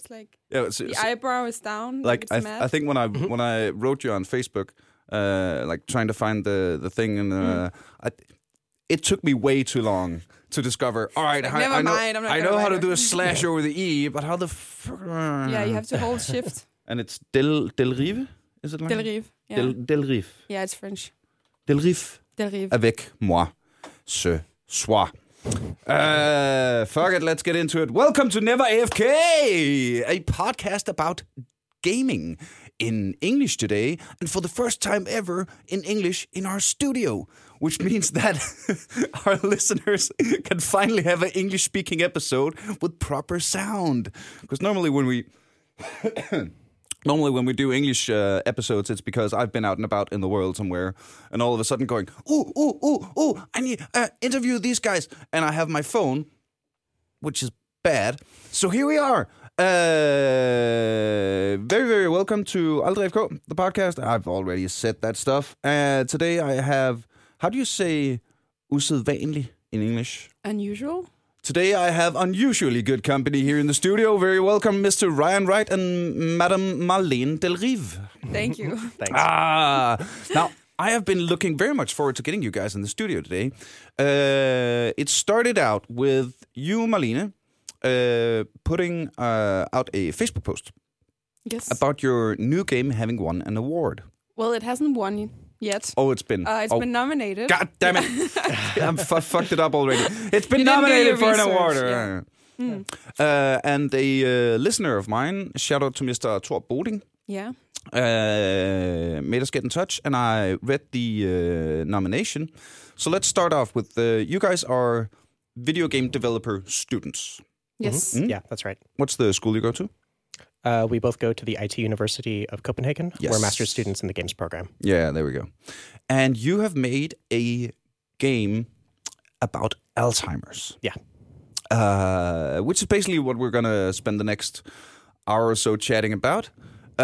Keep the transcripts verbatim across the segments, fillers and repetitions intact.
like Yeah, so, the so, eyebrow is down. like it's I, mad. I think when I when I wrote you on Facebook, uh, like trying to find the the thing, and uh, Mm. I, it took me way too long to discover. All right, Like, I, never I know mind, I'm not I gonna know how write to do it. a slash over the e, but how the fuck? Yeah, you have to hold shift. And it's Del Del Rive, is it like Del Rive. Yeah. Del Del Rive. Yeah, it's French. Del Rive. Del Rive. Avec moi, ce soir. Uh, fuck it, let's get into it. Welcome to Never A F K, a podcast about gaming in English today, and for the first time ever in English in our studio, which means that our listeners can finally have an English-speaking episode with proper sound. Because normally when we... Normally, when we do English uh, episodes, it's because I've been out and about in the world somewhere, and all of a sudden going, ooh, ooh, ooh, ooh, I need to uh, interview these guys. And I have my phone, which is bad. So here we are. Uh, very, very welcome to Aldrig F K, the podcast. I've already said that stuff. Uh, today I have, how do you say usædvanlig in English? Unusual? Today I have unusually good company here in the studio. Very welcome, Mister Ryan Wright and Madam Marlene Del Rive. Thank you. Thanks. Ah, now I have been looking very much forward to getting you guys in the studio today. Uh, it started out with you, Marlene, uh, putting uh, out a Facebook post Yes. about your new game having won an award. Well, it hasn't won yet. Oh, it's been. Uh, it's oh, been nominated. God damn it! I'm f- fucked it up already. It's been You didn't do nominated your for an research, award. yeah. Mm. Uh, and a uh, listener of mine, shout out to Mister Thor Boding, Yeah. uh, made us get in touch, and I read the uh, nomination. So let's start off with uh, you guys are video game developer students. Yes. Mm? Yeah, that's right. What's the school you go to? Uh, we both go to the I T University of Copenhagen. Yes. We're master's students in the games program. Yeah, there we go. And you have made a game about Alzheimer's. Yeah. Uh, which is basically what we're going to spend the next hour or so chatting about.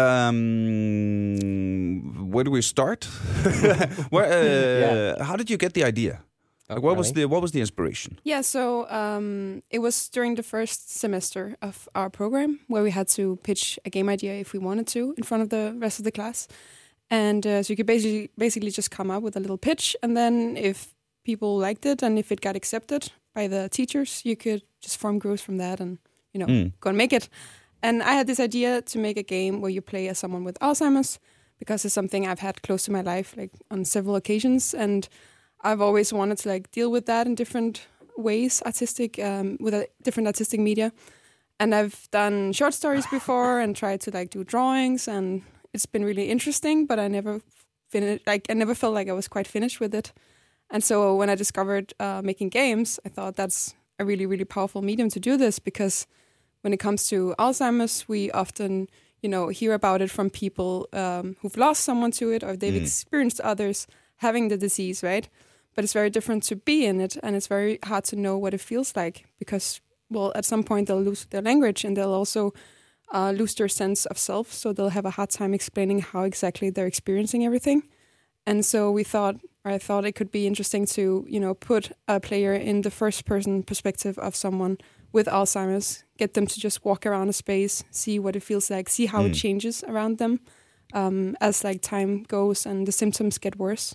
Um, where do we start? where, uh, Yeah. How did you get the idea? Like, what was the what was the inspiration? Yeah, so um, it was during the first semester of our program where we had to pitch a game idea if we wanted to in front of the rest of the class. And uh, so you could basically basically just come up with a little pitch, and then if people liked it and if it got accepted by the teachers, you could just form groups from that and, you know, Mm. go and make it. And I had this idea to make a game where you play as someone with Alzheimer's, because it's something I've had close to my life, like on several occasions, and I've always wanted to like deal with that in different ways, artistic, um, with a different artistic media. And I've done short stories before and tried to like do drawings, and it's been really interesting, but I never finished, like I never felt like I was quite finished with it. And so when I discovered uh, making games, I thought that's a really, really powerful medium to do this, because when it comes to Alzheimer's, we often, you know, hear about it from people um, who've lost someone to it, or they've Mm. experienced others having the disease, right? But it's very different to be in it, and it's very hard to know what it feels like, because, well, at some point they'll lose their language, and they'll also uh, lose their sense of self, so they'll have a hard time explaining how exactly they're experiencing everything. And so we thought, or I thought it could be interesting to, you know, put a player in the first-person perspective of someone with Alzheimer's, get them to just walk around a space, see what it feels like, see how Mm. it changes around them um, as like time goes and the symptoms get worse.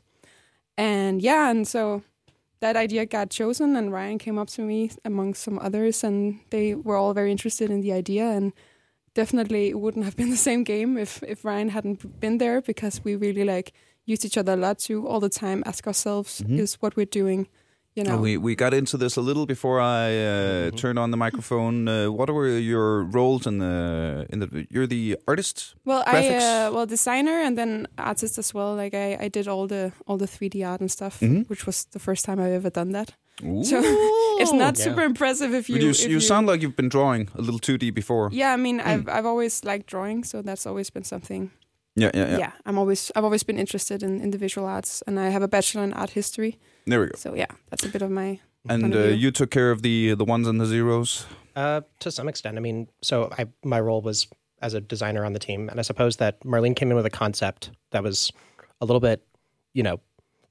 And yeah, and so that idea got chosen, and Ryan came up to me among some others, and they were all very interested in the idea. And definitely it wouldn't have been the same game if, if Ryan hadn't been there, because we really like used each other a lot to all the time ask ourselves, Mhm. is what we're doing, you know? We we got into this a little before I uh, Mhm. turned on the microphone. Uh, what were your roles in the in the? You're the artist. Well, I Graphics? uh, well designer and then artist as well. Like I, I did all the all the three D art and stuff, Mhm. which was the first time I've ever done that. Ooh. So it's not Yeah. super impressive if you. But you, if you sound like you've been drawing a little two D before. Yeah, I mean, Mm. I've I've always liked drawing, so that's always been something. Yeah, yeah, yeah. Yeah, I'm always I've always been interested in, in the visual arts, and I have a bachelor in art history. There we go. So yeah, that's a bit of my. And point of uh, view. you took care of the the ones and the zeros. Uh, to some extent. I mean, so I, my role was as a designer on the team, and I suppose that Marlene came in with a concept that was a little bit, you know,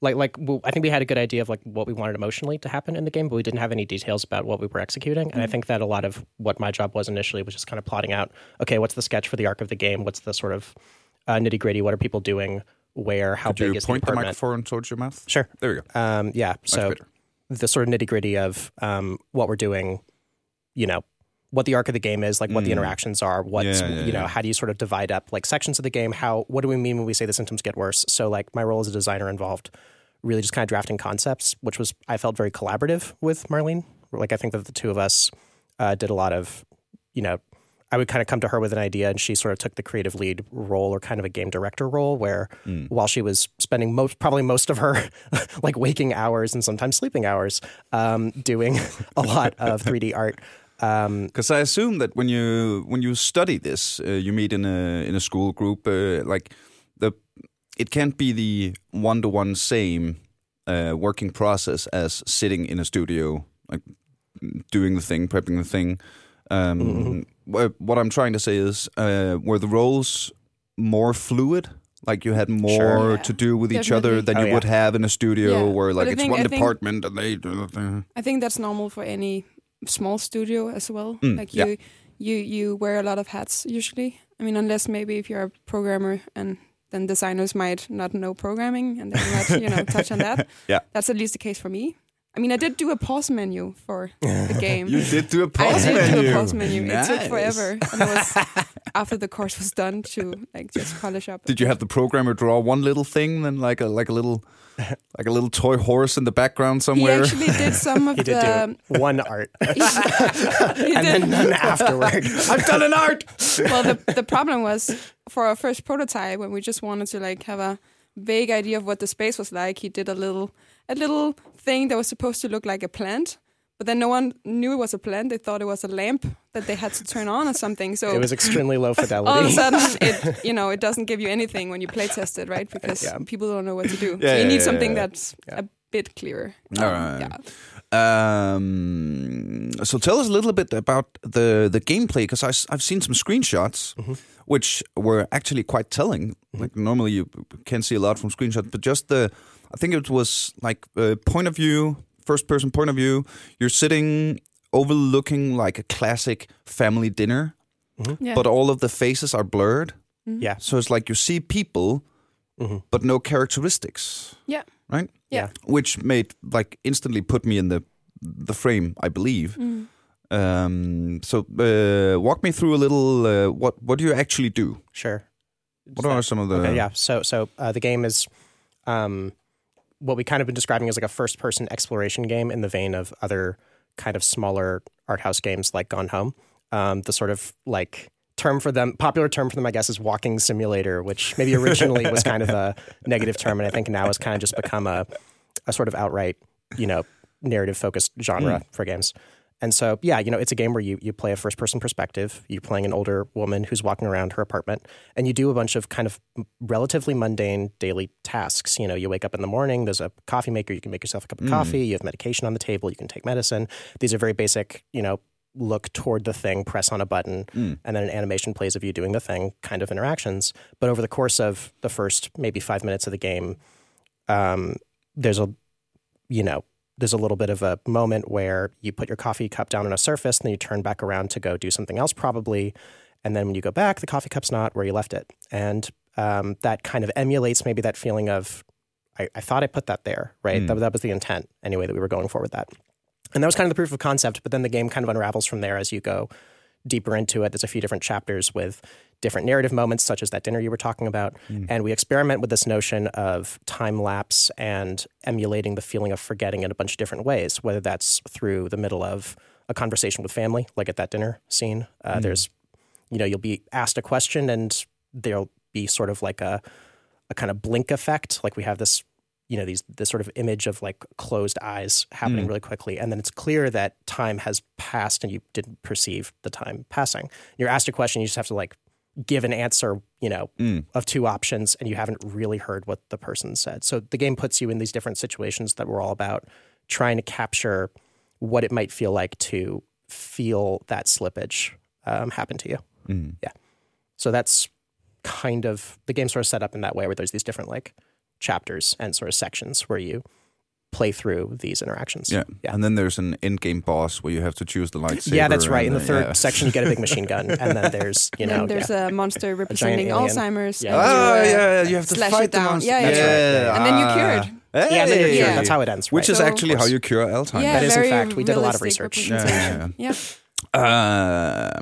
like like well, I think we had a good idea of like what we wanted emotionally to happen in the game, but we didn't have any details about what we were executing. And mm-hmm. I think that a lot of what my job was initially was just kind of plotting out, okay, what's the sketch for the arc of the game? What's the sort of uh, nitty gritty? What are people doing? Where? How Could big you is point the the microphone towards your mouth? Sure. There we go. Um, yeah. Much so better. The sort of nitty gritty of um, what we're doing, you know, what the arc of the game is, like what mm. the interactions are, what's, yeah, yeah, you know, yeah. how do you sort of divide up like sections of the game? How, what do we mean when we say the symptoms get worse? So like my role as a designer involved really just kind of drafting concepts, which was, I felt very collaborative with Marlene. Like I think that the two of us uh, did a lot of, you know, I would kind of come to her with an idea and she sort of took the creative lead role or kind of a game director role where mm. while she was spending most, probably most of her like waking hours and sometimes sleeping hours um, doing a lot of three D art. Because um, I assume that when you when you study this, uh, you meet in a in a school group. Uh, like the, it can't be the one to one same uh, working process as sitting in a studio, like doing the thing, prepping the thing. Um, mm-hmm. What I'm trying to say is, uh, were the roles more fluid? Like you had more sure, yeah. to do with Definitely. each other than oh, you yeah. would have in a studio, yeah. where like I it's think, one I department think, and they do the thing. I think that's normal for any small studio as well. Mm, like you, yeah. you, you wear a lot of hats usually. I mean, unless maybe if you're a programmer and then designers might not know programming and they might, you know, touch on that. Yeah, that's at least the case for me. I mean, I did do a pause menu for the game. You did do a pause I menu. did do a pause menu. Nice. It took forever. And it was after the course was done to like just polish up. Did you have the programmer draw one little thing, then like a like a little like a little toy horse in the background somewhere? He actually did some of he did the do one art, he, he and did. then none afterward. I've done an art. Well, the the problem was for our first prototype when we just wanted to like have a vague idea of what the space was like. He did a little a little thing that was supposed to look like a plant, but then no one knew it was a plant. They thought it was a lamp that they had to turn on or something. So it was extremely low fidelity. All of a sudden, it you know it doesn't give you anything when you play test it, right? Because yeah. people don't know what to do. Yeah, so you yeah, need yeah, something yeah. that's yeah. a bit clearer. All um, right. Yeah. Um, so tell us a little bit about the the gameplay, because I've seen some screenshots, mm-hmm. which were actually quite telling. Mm-hmm. Like normally you can't see a lot from screenshots, but just the, I think it was like uh, point of view, first person point of view. You're sitting overlooking like a classic family dinner, mm-hmm. yeah. but all of the faces are blurred. Mm-hmm. Yeah. So it's like you see people, mm-hmm. but no characteristics. Yeah. Right? Yeah. Which made like instantly put me in the the frame, I believe. Mm. Um, so uh, walk me through a little. Uh, what what do you actually do? Sure. What are some of the? Okay, yeah. So so uh, the game is um, what we kind of been describing as like a first person exploration game in the vein of other kind of smaller art house games like Gone Home. Um, the sort of like term for them, popular term for them, I guess, is walking simulator, which maybe originally was kind of a negative term, and I think now has kind of just become a, a sort of outright, you know, narrative-focused genre mm. for games. And so, yeah, you know, it's a game where you, you play a first-person perspective. You're playing an older woman who's walking around her apartment, and you do a bunch of kind of relatively mundane daily tasks. You know, you wake up in the morning, there's a coffee maker, you can make yourself a cup of mm. coffee, you have medication on the table, you can take medicine. These are very basic, you know, look toward the thing, press on a button, mm. and then an animation plays of you doing the thing kind of interactions. But over the course of the first maybe five minutes of the game, um, there's a, you know, there's a little bit of a moment where you put your coffee cup down on a surface and then you turn back around to go do something else probably. And then when you go back, the coffee cup's not where you left it. And um, that kind of emulates maybe that feeling of, I, I thought I put that there, right? Mm. That, that was the intent anyway that we were going for with that. And that was kind of the proof of concept, but then the game kind of unravels from there as you go deeper into it. There's a few different chapters with different narrative moments, such as that dinner you were talking about. Mm. And we experiment with this notion of time lapse and emulating the feeling of forgetting in a bunch of different ways, whether that's through the middle of a conversation with family, like at that dinner scene. Uh, mm. There's, you know, you'll be asked a question and there'll be sort of like a, a kind of blink effect. Like we have this, you know, these this sort of image of like closed eyes happening mm. really quickly. And then it's clear that time has passed and you didn't perceive the time passing. You're asked a question, you just have to like give an answer, you know, mm. of two options, and you haven't really heard what the person said. So the game puts you in these different situations that were all about trying to capture what it might feel like to feel that slippage um, happen to you. Mm. Yeah. So that's kind of, the game's sort of set up in that way where there's these different like chapters and sort of sections where you play through these interactions. Yeah. yeah. And then there's an end-game boss where you have to choose the lightsaber. Yeah, that's right. In the and, third yeah. section, you get a big machine gun, and then there's, you know... And there's yeah. a monster representing Alzheimer's. Yeah. And Oh, you, uh, yeah, you have to slash fight it the down. monster. Yeah, yeah, That's yeah. right. And then you cure it. Hey. Yeah, and then you're cured. Yeah. That's how it ends, right? Which is So- actually how you cure Alzheimer's. Yeah, That is, in very fact, we did a lot of realistic research. representation. Yeah, yeah.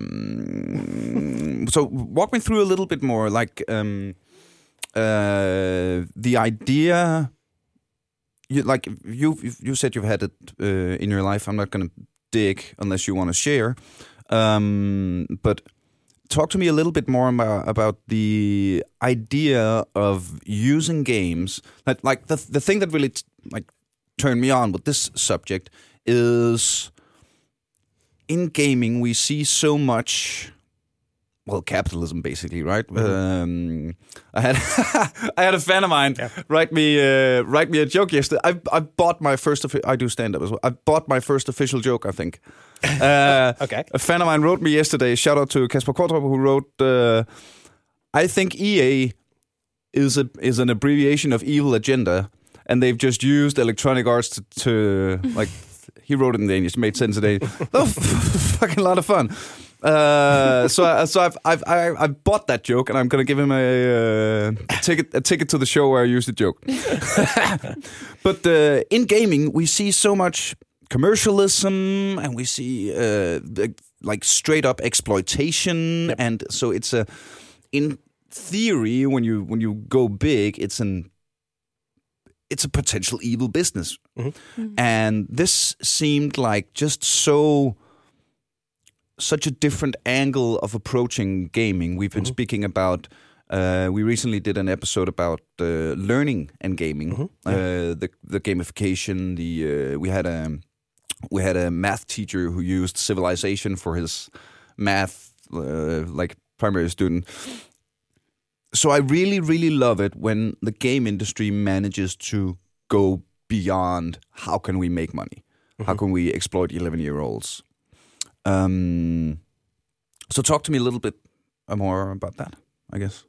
Um, so walk me through a little bit more, like um, uh, the idea. You like you you said you've had it uh, in your life. I'm not going to dig unless you want to share, um, but talk to me a little bit more about, about the idea of using games. Like, like the the thing that really t- like turned me on with this subject is in gaming we see so much. Well, capitalism, basically, right? Mm-hmm. Um, I had I had a fan of mine yeah. write me uh, write me a joke yesterday. I I bought my first. I do stand up as well. I bought my first official joke. I think. Uh, okay. A fan of mine wrote me yesterday. Shout out to Kasper Kortrup, who wrote. Uh, I think E A is a is an abbreviation of Evil Agenda, and they've just used Electronic Arts to, to like. He wrote it in Danish. It made sense today. Oh, fucking lot of fun. Uh, so, I, so I've, I've, I, I bought that joke, and I'm gonna give him a, uh, ticket, a ticket to the show where I use the joke. But uh, in gaming, we see so much commercialism, and we see uh, like straight up exploitation, yep. and so it's a. In theory, when you when you go big, it's an. It's a potential evil business, mm-hmm. Mm-hmm. and this seemed like just so. Such a different angle of approaching gaming. We've been mm-hmm. speaking about. Uh, we recently did an episode about uh, learning and gaming, mm-hmm. uh, the the gamification. The uh, we had a we had a math teacher who used Civilization for his math, uh, like primary student. So I really, really love it when the game industry manages to go beyond how can we make money, mm-hmm. how can we exploit eleven-year-olds. Um, so talk to me a little bit more about that, I guess.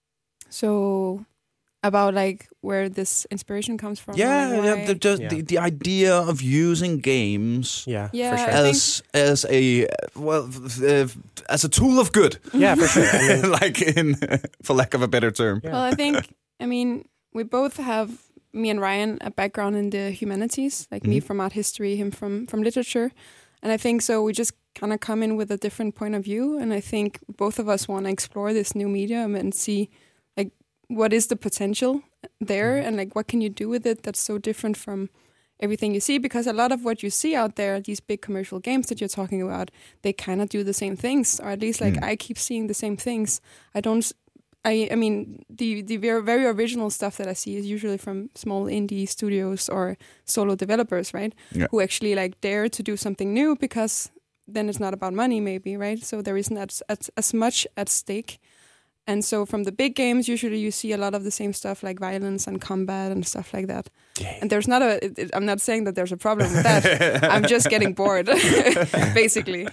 So about like where this inspiration comes from. Yeah, like yeah, the, just yeah. The, the idea of using games yeah, yeah, for sure. as as a well uh, as a tool of good. Yeah, for sure. I mean, like in for lack of a better term. Yeah. Well, I think I mean we both have, me and Ryan, a background in the humanities, like mm-hmm. me from art history, him from from literature. And I think so we just kind of come in with a different point of view. And I think both of us want to explore this new medium and see like what is the potential there mm-hmm. and like what can you do with it that's so different from everything you see. Because a lot of what you see out there, these big commercial games that you're talking about, they kind of do the same things, or at least like mm. I keep seeing the same things. I don't... I, I mean, the, the very, very original stuff that I see is usually from small indie studios or solo developers, right? Yeah. Who actually like dare to do something new because then it's not about money, maybe, right? So there isn't as, as, as much at stake. And so from the big games, usually you see a lot of the same stuff like violence and combat and stuff like that. Yeah. And there's not a, it, it, I'm not saying that there's a problem with that. I'm just getting bored, basically.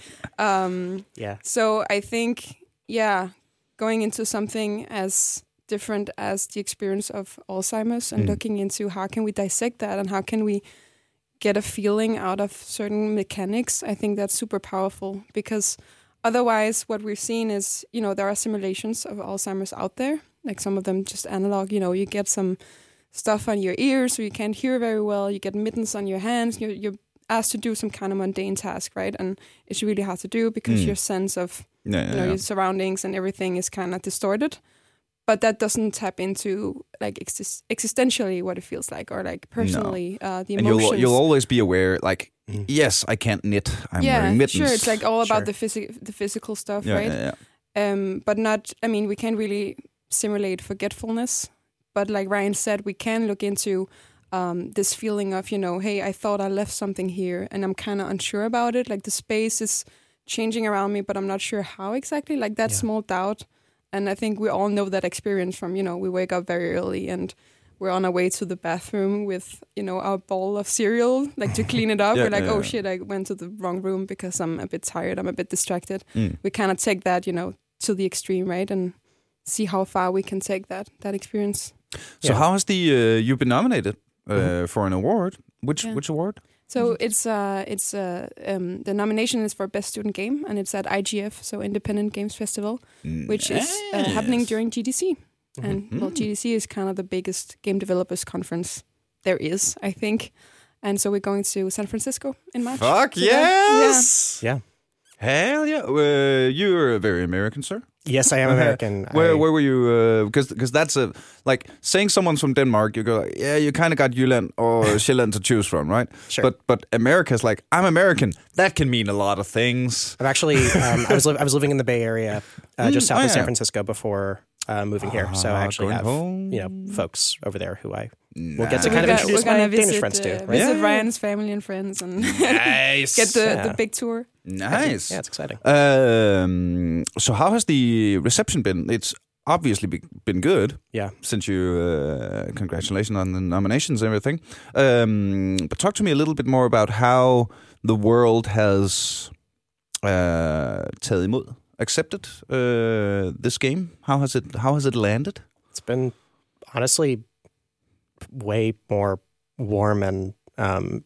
Um, yeah. So I think, yeah, going into something as different as the experience of Alzheimer's and mm. looking into how can we dissect that and how can we get a feeling out of certain mechanics, I think that's super powerful, because otherwise what we've seen is, you know, there are simulations of Alzheimer's out there, like some of them just analog, you know, you get some stuff on your ears so you can't hear very well, you get mittens on your hands, you're, you're asked to do some kind of mundane task, right? And it's really hard to do because mm. your sense of yeah, yeah, you know, yeah. your surroundings and everything is kind of distorted. But that doesn't tap into like exist- existentially what it feels like, or like personally no. uh, the and emotions. You'll, you'll always be aware, like, mm. yes, I can't knit. I'm yeah, wearing mittens. sure. It's like all about sure. the physical, the physical stuff, yeah, right? Yeah, yeah. Um, but not. I mean, we can't really simulate forgetfulness. But like Ryan said, we can look into um, this feeling of, you know, hey, I thought I left something here, and I'm kind of unsure about it. Like the space is changing around me, but I'm not sure how exactly. Like that yeah. small doubt. And I think we all know that experience from, you know, we wake up very early and we're on our way to the bathroom with, you know, our bowl of cereal, like to clean it up. yeah, we're like, yeah, oh yeah. shit, I went to the wrong room because I'm a bit tired. I'm a bit distracted. Mm. We kind of take that, you know, to the extreme, right? And see how far we can take that that experience. So Yeah. how has the uh, you've been nominated uh, Mhm. for an award? Which Yeah. which award? So it's uh it's uh um the nomination is for best student game, and it's at I G F, so Independent Games Festival, which is uh, happening during G D C. Mhm. And well, G D C is kind of the biggest game developers conference there is, I think. And so we're going to San Francisco in March. Fuck So that- yes! Yeah. Hell yeah! Uh, you're very American, sir. Yes, I am American. Where I, where were you? Because because that's a like saying someone's from Denmark. You go, yeah, you kind of got Jylland or Sjælland to choose from, right? Sure. But but America's like, I'm American. That can mean a lot of things. I'm actually um, I was li- I was living in the Bay Area, uh, just Mm, south oh, of San yeah. Francisco before uh, moving here. So I Ah, actually going have home. you know folks over there who I Nice. will get to We're kind of gonna- introduce we're gonna my Danish visit, friends to. uh, Right? Visit Yeah. Ryan's family and friends and Nice. get the, Yeah. the big tour. Nice. Yeah, it's exciting. Um, so how has the reception been? It's obviously be, been good. Yeah. Since you, uh, congratulations on the nominations and everything. Um, but talk to me a little bit more about how the world has uh, taget imod, accepted uh, this game. How has it? How has it landed? It's been honestly way more warm and um,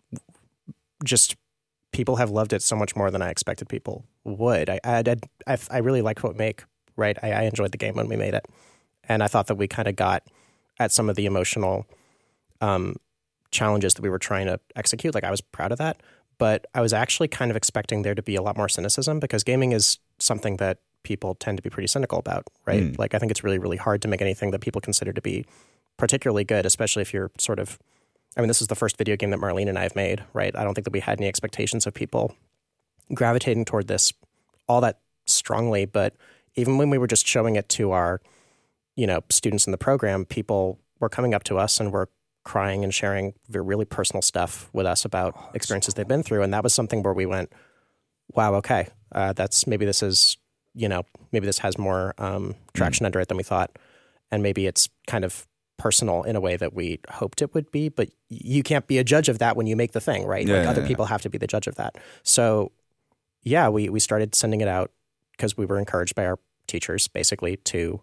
just people have loved it so much more than I expected people would. I I I, I really liked what we make, right? I, I enjoyed the game when we made it, and I thought that we kind of got at some of the emotional um, challenges that we were trying to execute. Like I was proud of that, but I was actually kind of expecting there to be a lot more cynicism because gaming is something that people tend to be pretty cynical about, right? Mm. Like I think it's really, really hard to make anything that people consider to be particularly good, especially if you're sort of, I mean, this is the first video game that Marlene and I have made, right? I don't think that we had any expectations of people gravitating toward this all that strongly, but even when we were just showing it to our, you know, students in the program, people were coming up to us and were crying and sharing very really personal stuff with us about experiences they've been through. And that was something where we went, wow, okay, uh, that's maybe this is, you know, maybe this has more um, traction mm. under it than we thought. And maybe it's kind of personal in a way that we hoped it would be, but you can't be a judge of that when you make the thing, right? Yeah, like yeah, other yeah. people have to be the judge of that. So yeah, we, we started sending it out because we were encouraged by our teachers basically to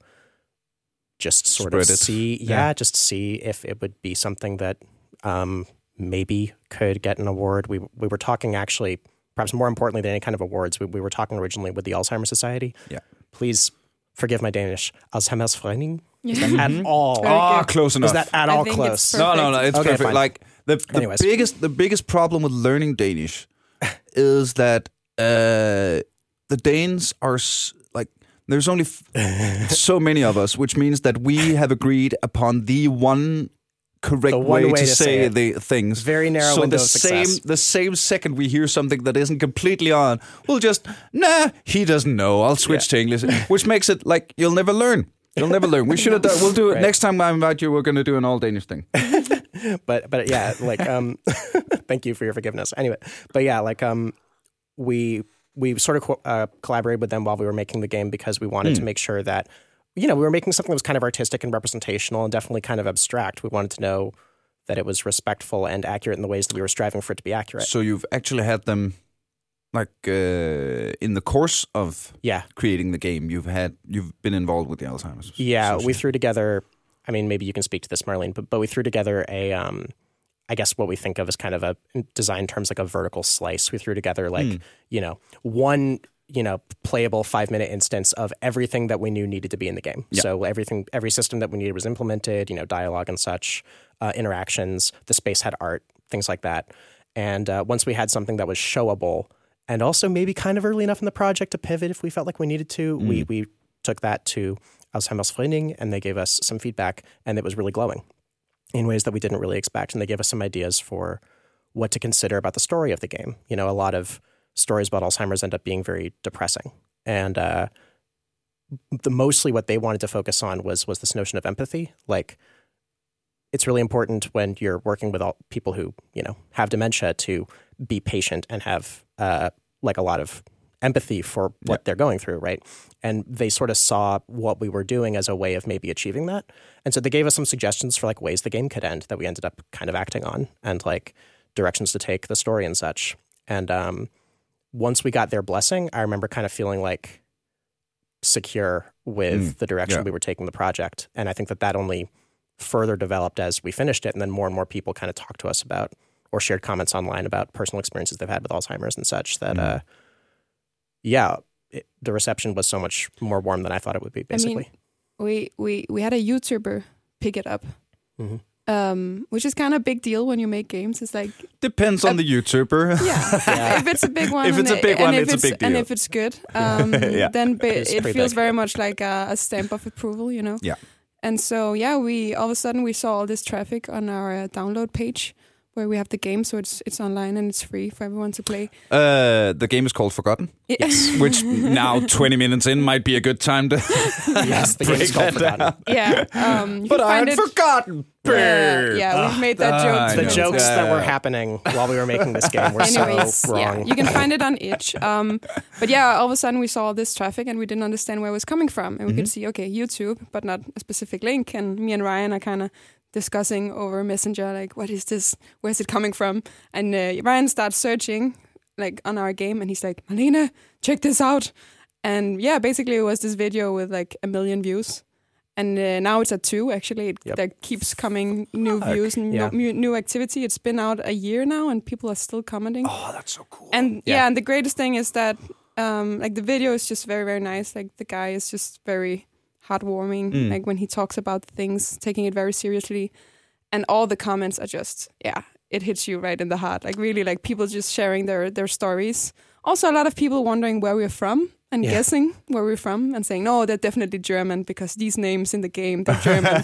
just sort Spread of it. see, yeah, Yeah. just see if it would be something that um, maybe could get an award. We we were talking actually, perhaps more importantly than any kind of awards, we, we were talking originally with the Alzheimer's Society. Yeah. Please forgive my Danish. Alzheimer's Verening? Is Yeah. that at all? Very Ah, good. close enough. Is that at I all think close? it's No, no, no. It's Okay, perfect. fine. Like the the Anyways. biggest the biggest problem with learning Danish is that uh, the Danes are s- like there's only f- so many of us, which means that we have agreed upon the one correct The one way, way to, to say, say it. the things. Very narrow so window the of same success. the same second we hear something that isn't completely on, we'll just nah. He doesn't know. I'll switch to English, which makes it like you'll never learn. You'll never learn. We should have done. We'll do it Right. next time I invite you. We're going to do an all Danish thing. but but yeah, like um, thank you for your forgiveness. Anyway, but yeah, like um, we we sort of co- uh, collaborated with them while we were making the game because we wanted Mm. to make sure that you know we were making something that was kind of artistic and representational and definitely kind of abstract. We wanted to know that it was respectful and accurate in the ways that we were striving for it to be accurate. So you've actually had them, like uh, in the course of Yeah, creating the game, you've had you've been involved with the Alzheimer's. yeah. We Association. threw together. I mean, maybe you can speak to this, Marlene, but but we threw together a. Um, I guess what we think of as kind of a in design terms like a vertical slice. We threw together like Mm. you know one you know playable five minute instance of everything that we knew needed to be in the game. Yeah. So everything, every system that we needed was implemented. You know, dialogue and such, uh, interactions. The space had art, things like that. And uh, once we had something that was showable, and also maybe kind of early enough in the project to pivot if we felt like we needed to, Mm. we we took that to Alzheimer's Verening, and they gave us some feedback, and it was really glowing in ways that we didn't really expect. And they gave us some ideas for what to consider about the story of the game. You know, a lot of stories about Alzheimer's end up being very depressing. And uh, the mostly what they wanted to focus on was was this notion of empathy. Like, it's really important when you're working with all people who, you know, have dementia to be patient and have uh, like a lot of empathy for what Yeah. they're going through, right? And they sort of saw what we were doing as a way of maybe achieving that. And so they gave us some suggestions for like ways the game could end that we ended up kind of acting on, and like directions to take the story and such. And um, once we got their blessing, I remember kind of feeling like secure with Mm. the direction Yeah. we were taking the project. And I think that that only further developed as we finished it. And then more and more people kind of talked to us about or shared comments online about personal experiences they've had with Alzheimer's and such that, Mm. uh, yeah, it, the reception was so much more warm than I thought it would be, basically. I mean, we, we, we had a YouTuber pick it up. Mm-hmm. Um, which is kind of a big deal when you make games. It's like Depends on Uh, the YouTuber. yeah, Yeah. if it's a big one, If it's and a big it- and one, if it's a big and deal. if it's good, um, Yeah. then ba- It's it pretty feels big. very much like a, a stamp of approval, you know. Yeah. And so yeah, we all of a sudden we saw all this traffic on our uh, download page where we have the game, so it's it's online and it's free for everyone to play. Uh, the game is called Forgotten, Yeah. which now twenty minutes in might be a good time to. Yes, the Break game's called that Forgotten. yeah, um, you But can I find had it. forgotten. Yeah, yeah, we've made that Ah, joke. I The too. know. jokes Yeah. that were happening while we were making this game were Anyways, so wrong. yeah, you can find it on itch. Um, but yeah, all of a sudden we saw all this traffic and we didn't understand where it was coming from. And we Mhm. could see, okay, YouTube, but not a specific link. And me and Ryan are kind of discussing over Messenger, like, what is this? Where's it coming from? And uh, Ryan starts searching, like, on our game, and he's like, Malene, check this out. And yeah, basically it was this video with like a million views. And uh, now it's at two, actually. It Yep. there keeps coming new Fuck. views and Yeah. new, new activity. It's been out a year now, and people are still commenting. Oh, that's so cool. And yeah. Yeah. and the greatest thing is that um, like the video is just very, very nice. Like the guy is just very heartwarming. Mm. Like when he talks about things, taking it very seriously, and all the comments are just yeah, it hits you right in the heart. Like really, like people just sharing their their stories. Also, a lot of people wondering where we're from and Yeah. guessing where we're from and saying no, they're definitely German because these names in the game they're German,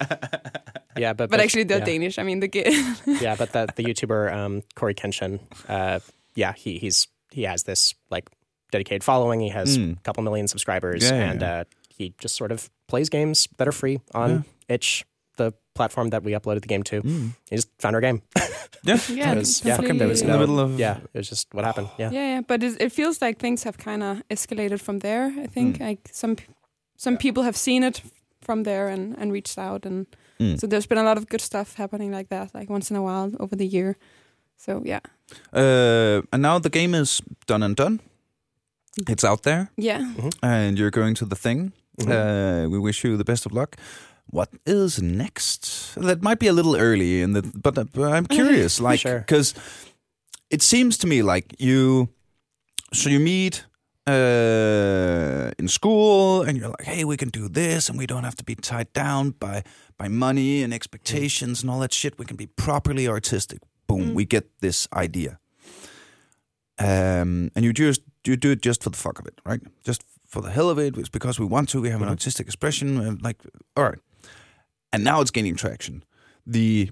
Yeah, but but actually they're yeah. Danish. I mean the game. Yeah, but the the YouTuber um, Corey Kenshin, uh, yeah, he he's he has this like dedicated following. He has Mm. a couple million subscribers, Yeah, yeah, and yeah. uh, he just sort of plays games that are free on Yeah. itch, the platform that we uploaded the game to. Mm. He just found our game. Yeah. yeah, It was- yeah, completely- there was In the no- middle of Yeah, it was just what happened. Yeah, Yeah, yeah, but it, it feels like things have kind of escalated from there. I think Mm. like some p- some people have seen it from there and, and reached out, and Mm. so there's been a lot of good stuff happening like that, like once in a while over the year. So yeah, Uh, and now the game is done and done. It's out there, yeah. and you're going to the thing. Mhm. Uh, we wish you the best of luck. What is next? That might be a little early, in the, but, uh, but I'm curious, like, Sure. because it seems to me like you. So you meet uh, in school, and you're like, "Hey, we can do this, and we don't have to be tied down by by money and expectations and all that shit. We can be properly artistic." Boom, Mm. we get this idea, um, and you just you do it just for the fuck of it, right? Just for the hell of it. It's because we want to. We have an Mhm. artistic expression, and like, all right. And now it's gaining traction. The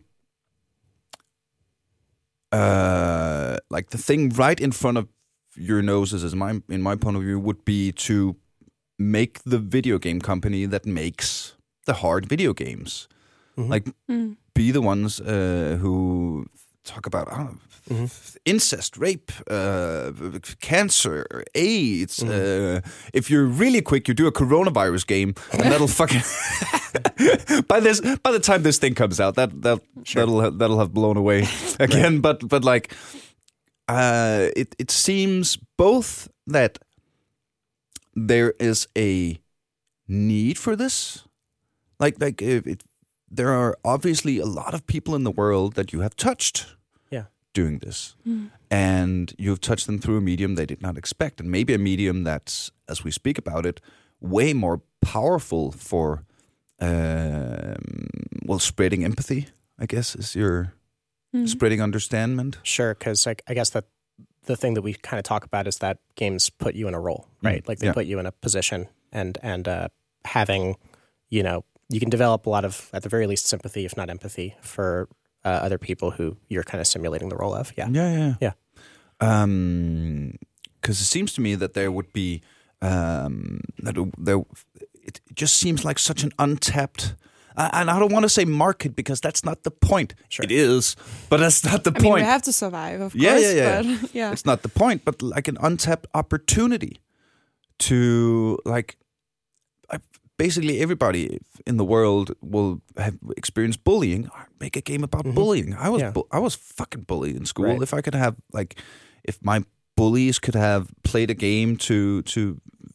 uh, like the thing right in front of your noses, as my in my point of view, would be to make the video game company that makes the hard video games. Mhm. Like, Mm. be the ones uh, who talk about I don't know, Mhm. incest, rape, uh, cancer, AIDS. Mhm. Uh, if you're really quick, you do a coronavirus game, and that'll fucking by this by the time this thing comes out, that that Sure. that'll ha- that'll have blown away again. But but like, uh, it it seems both that there is a need for this, like like if it. There are obviously a lot of people in the world that you have touched Yeah. doing this. Mm. And you've touched them through a medium they did not expect. And maybe a medium that's, as we speak about it, way more powerful for, um, well, spreading empathy, I guess, is your Mm. spreading understanding. Sure, because I, I guess that the thing that we kind of talk about is that games put you in a role, right? Mm, Like they yeah. put you in a position, and and uh, having, you know, you can develop a lot of, at the very least, sympathy, if not empathy, for uh, other people who you're kind of simulating the role of. Yeah, Yeah, yeah, Yeah. Um, because it seems to me that there would be um that there it just seems like such an untapped. Uh, and I don't want to say market because that's not the point. Sure. It is, but that's not the I mean, point. we have to survive, of Yeah, course. yeah, yeah. But yeah, It's not the point, but like an untapped opportunity to like. I, basically, everybody in the world will have experienced bullying. Make a game about Mhm. bullying. I was Yeah. bu- I was fucking bullied in school. Right. If I could have like, if my bullies could have played a game to to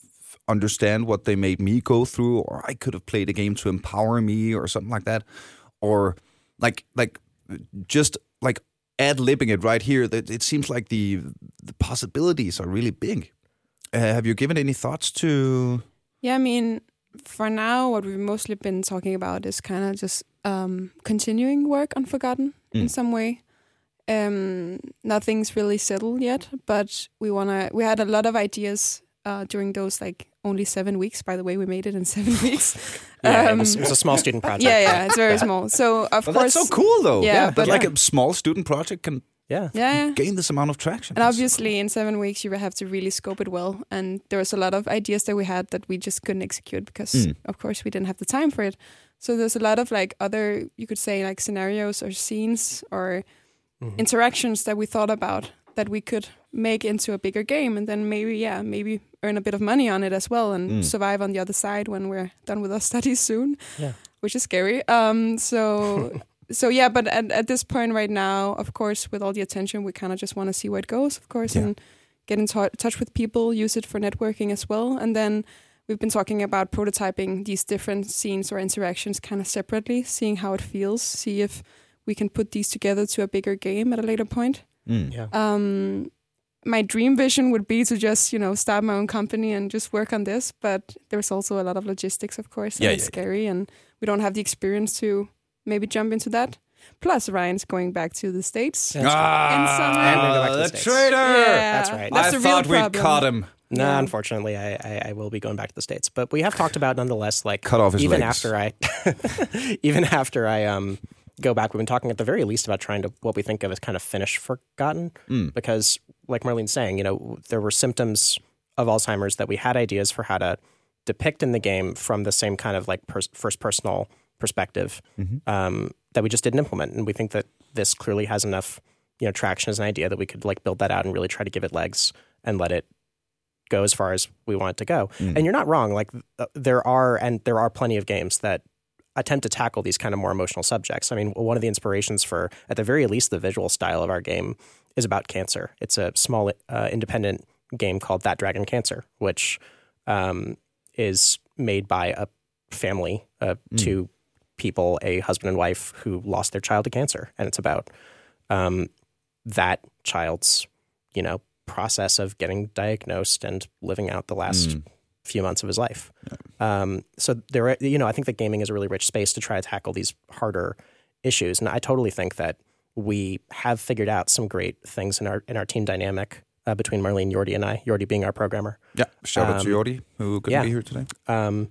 understand what they made me go through, or I could have played a game to empower me, or something like that, or like like just like ad-libbing it right here. That it seems like the the possibilities are really big. Uh, have you given any thoughts to? Yeah, I mean, for now, what we've mostly been talking about is kind of just um, continuing work on Forgotten mm. in some way. Um, nothing's really settled yet, but we wanna. We had a lot of ideas uh, during those like only seven weeks. By the way, we made it in seven weeks. Yeah, um, it, was, it was a small student project. Yeah, yeah, it's very small. So of well, course, that's so cool though. Yeah, yeah but like yeah. a small student project can. Yeah. Yeah, yeah. gain this amount of traction. And obviously, in seven weeks, you have to really scope it well. And there was a lot of ideas that we had that we just couldn't execute because, mm. of course, we didn't have the time for it. So there's a lot of like other, you could say, like scenarios or scenes or mm-hmm. interactions that we thought about that we could make into a bigger game, and then maybe, yeah, maybe earn a bit of money on it as well and mm. survive on the other side when we're done with our studies soon. Yeah, which is scary. Um, so. So yeah, but at, at this point right now, of course, with all the attention, we kind of just want to see where it goes, of course, yeah. and get in t- touch with people, use it for networking as well. And then we've been talking about prototyping these different scenes or interactions kind of separately, seeing how it feels, see if we can put these together to a bigger game at a later point. Mm. Yeah. Um, my dream vision would be to just, you know, start my own company and just work on this. But there's also a lot of logistics, of course, and yeah, it's yeah, scary, yeah. and we don't have the experience to maybe jump into that. Plus, Ryan's going back to the States. That's ah, in summer. the, the the traitor! Yeah, that's right. That's I the thought real we problem. caught him. No, yeah. unfortunately, I, I, I will be going back to the States. But we have talked about, nonetheless, like cut off his even legs. after I, even after I um go back, we've been talking at the very least about trying to what we think of as kind of finish Forgotten, mm. because, like Marlene's saying, you know, there were symptoms of Alzheimer's that we had ideas for how to depict in the game from the same kind of like pers- first personal perspective mm-hmm. um, that we just didn't implement, and we think that this clearly has enough, you know, traction as an idea that we could like build that out and really try to give it legs and let it go as far as we want it to go. Mm. And you're not wrong. Like uh, there are, and there are plenty of games that attempt to tackle these kind of more emotional subjects. I mean, one of the inspirations for, at the very least, the visual style of our game is about cancer. It's a small uh, independent game called That Dragon Cancer, which um, is made by a family, uh, mm. two people, a husband and wife who lost their child to cancer. And it's about um, that child's, you know, process of getting diagnosed and living out the last mm. few months of his life. Yeah. Um, so there, you know, I think that gaming is a really rich space to try to tackle these harder issues. And I totally think that we have figured out some great things in our in our team dynamic uh, between Marlene, Jordi, and I. Jordi being our programmer. Yeah, shout out um, to Jordi, who couldn't yeah. be here today. Um,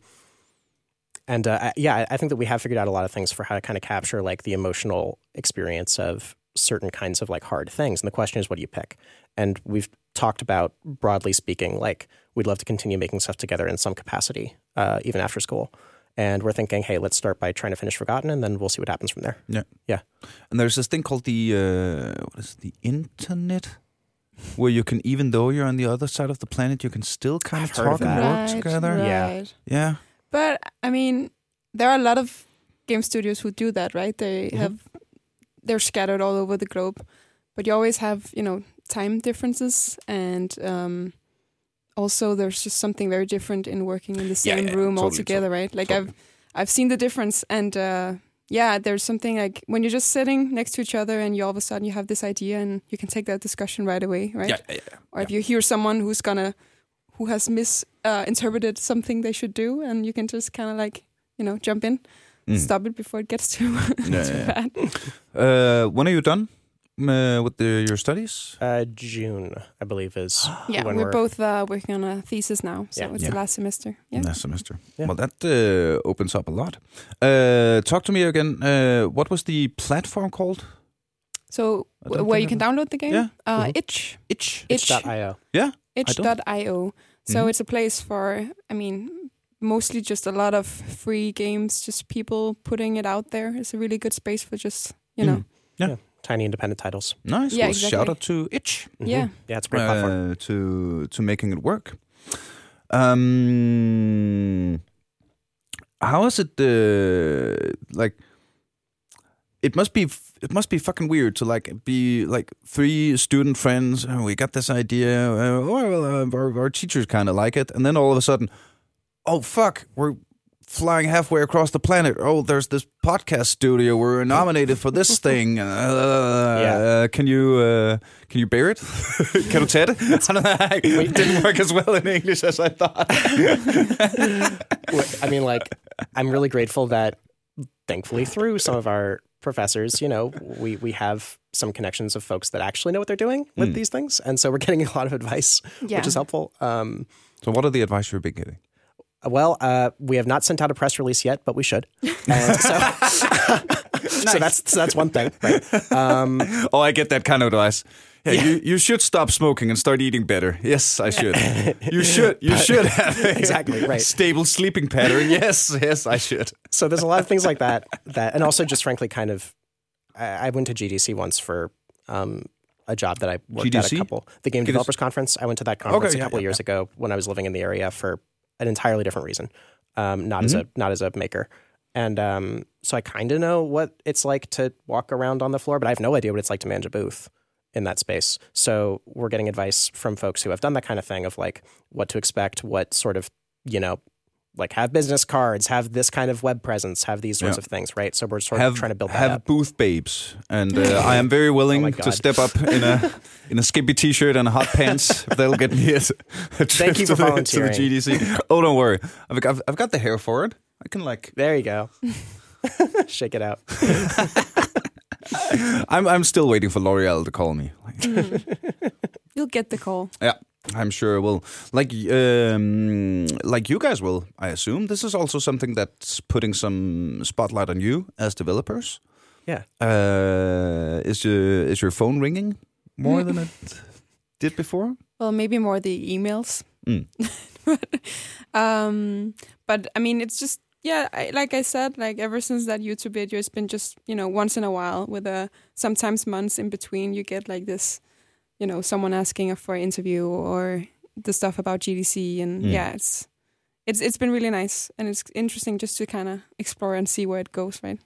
and uh, yeah, I think that we have figured out a lot of things for how to kind of capture like the emotional experience of certain kinds of like hard things. And the question is, what do you pick? And we've talked about, broadly speaking, like we'd love to continue making stuff together in some capacity, uh, even after school. And we're thinking, hey, let's start by trying to finish Forgotten, and then we'll see what happens from there. Yeah, yeah. And there's this thing called the uh, what is it, the internet, where you can, even though you're on the other side of the planet, you can still kind I've of heard talk of and that. work Right, together. right. Yeah, yeah. But I mean, there are a lot of game studios who do that, right? They mm-hmm. have they're scattered all over the globe, but you always have, you know, time differences, and um, also there's just something very different in working in the same Yeah, yeah, room totally, all together, totally, right? Like totally. I've I've seen the difference, and uh, yeah, there's something like when you're just sitting next to each other, and you all of a sudden you have this idea, and you can take that discussion right away, right? Yeah, yeah, yeah. Or yeah. if you hear someone who's gonna who has misinterpreted uh, something they should do, and you can just kind of like, you know, jump in. Mm. Stop it before it gets too, yeah, too yeah. bad. Uh, when are you done uh, with the, your studies? Uh, June, I believe, is yeah. when We're, we're both uh, working on a thesis now, so Yeah. it's Yeah. the last semester. Yeah. Last semester. Yeah. Well, that uh, opens up a lot. Uh, talk to me again. Uh, what was the platform called? So I don't w- where think you can I download the game, Yeah. uh, Mhm. itch, Itch. itch, itch dot io. Yeah. itch dot io. So Mhm. it's a place for, I mean, mostly just a lot of free games, just people putting it out there. It's a really good space for just, you know. Mm. Yeah. Yeah. Tiny independent titles. Nice. Yeah, well, exactly. shout out to Itch. Mhm. Yeah. Yeah, it's a great platform. Uh, to to making it work. Um, how is it? Uh, like, it must be it must be fucking weird to like be like three student friends. Oh, we got this idea. Uh, well, uh, our, our teachers kind of like it, and then all of a sudden, oh fuck, we're flying halfway across the planet. Oh, there's this podcast studio. We're nominated for this thing. Uh, yeah. uh, can you uh, can you bear it? Kan du tage det? It didn't work as well in English as I thought. I mean, like, I'm really grateful that, thankfully, through some of our professors, you know, we we have some connections of folks that actually know what they're doing with mm. these things, and so we're getting a lot of advice, yeah. which is helpful. Um, so, what are the advice you've been getting? Well, uh, we have not sent out a press release yet, but we should. And so, nice. so that's so that's one thing. Right? Um, oh, I get that kind of advice. Yeah, yeah. You, you should stop smoking and start eating better. Yes, I should. You should. You should have a exactly right. stable sleeping pattern. Yes, yes, I should. So there's a lot of things like that. That, and also just frankly, kind of, I, I went to G D C once for um, a job that I worked G D C? at a couple. The Game Developers Conference. I went to that conference okay, a couple yeah, years yeah. ago when I was living in the area for an entirely different reason, um, not mm-hmm. as a not as a maker, and um, so I kind of know what it's like to walk around on the floor, but I have no idea what it's like to manage a booth in that space. So we're getting advice from folks who have done that kind of thing of like what to expect, what sort of, you know, like have business cards, have this kind of web presence, have these sorts yeah. of things, right? So we're sort have, of trying to build that have up. booth babes, and uh, I am very willing oh to step up in a in a skimpy t-shirt and hot pants. If they'll get me a, a trip Thank you to, for the, volunteering. to the G D C. Oh, don't worry, I've, I've I've got the hair for it. I can like. There you go. Shake it out. I'm I'm still waiting for L'Oreal to call me. Mm. You'll get the call. Yeah. I'm sure it will. Like, um, like you guys will, I assume. This is also something that's putting some spotlight on you as developers. Yeah. Uh, is your is your phone ringing more than it did before? Well, maybe more the emails. Mm. um, but I mean, it's just yeah. I, like I said, like ever since that YouTube video, it's been just you know once in a while with a sometimes months in between. You get like this. You know, someone asking for an interview or the stuff about G D C, and mm. yeah, it's it's it's been really nice, and it's interesting just to kind of explore and see where it goes, right?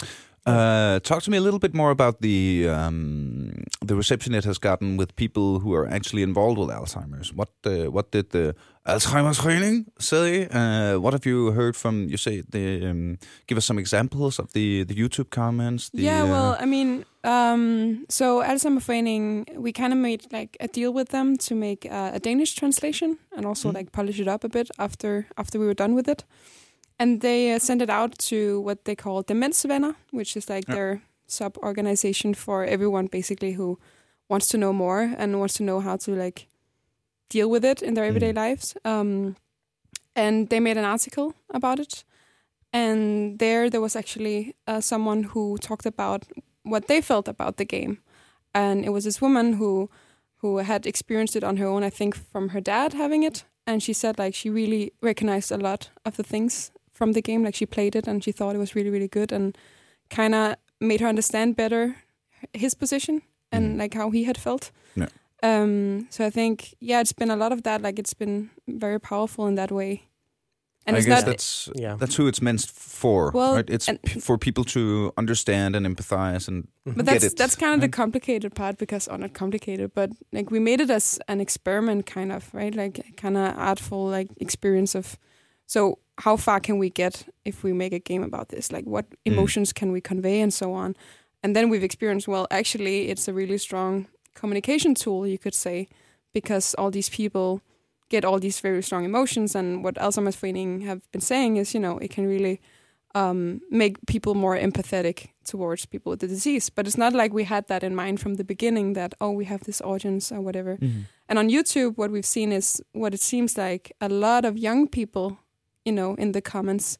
Uh, talk to me a little bit more about the um, the reception it has gotten with people who are actually involved with Alzheimer's. What uh, what did the Alzheimer's Forening say? Uh, what have you heard from? You say the um, give us some examples of the the YouTube comments. The, yeah, well, uh, I mean, um, so Alzheimer's Forening, we kind of made like a deal with them to make uh, a Danish translation and also mm. like polish it up a bit after after we were done with it. And they uh, sent it out to what they call Demensvenner, which is like yep. their sub-organization for everyone basically who wants to know more and wants to know how to like deal with it in their everyday mm. lives. Um, and they made an article about it. And there, there was actually uh, someone who talked about what they felt about the game. And it was this woman who who had experienced it on her own, I think, from her dad having it. And she said like she really recognized a lot of the things from the game. Like she played it and she thought it was really, really good and kind of made her understand better his position and mm. like how he had felt. Yeah. Um, so I think, yeah, it's been a lot of that. Like it's been very powerful in that way. And I it's guess not, that's yeah. that's who it's meant for, well, right? It's p- for people to understand and empathize and but get that's it. that's kind of right? the complicated part because, or not complicated, but like we made it as an experiment, kind of, right? Like kind of artful, like experience of. So how far can we get if we make a game about this? Like what emotions mm. can we convey and so on? And then we've experienced, well, actually, it's a really strong communication tool, you could say, because all these people get all these very strong emotions. And what Alzheimer's Forening have been saying is, you know, it can really um, make people more empathetic towards people with the disease. But it's not like we had that in mind from the beginning that, oh, we have this audience or whatever. Mm-hmm. And on YouTube, what we've seen is what it seems like a lot of young people, you know, in the comments,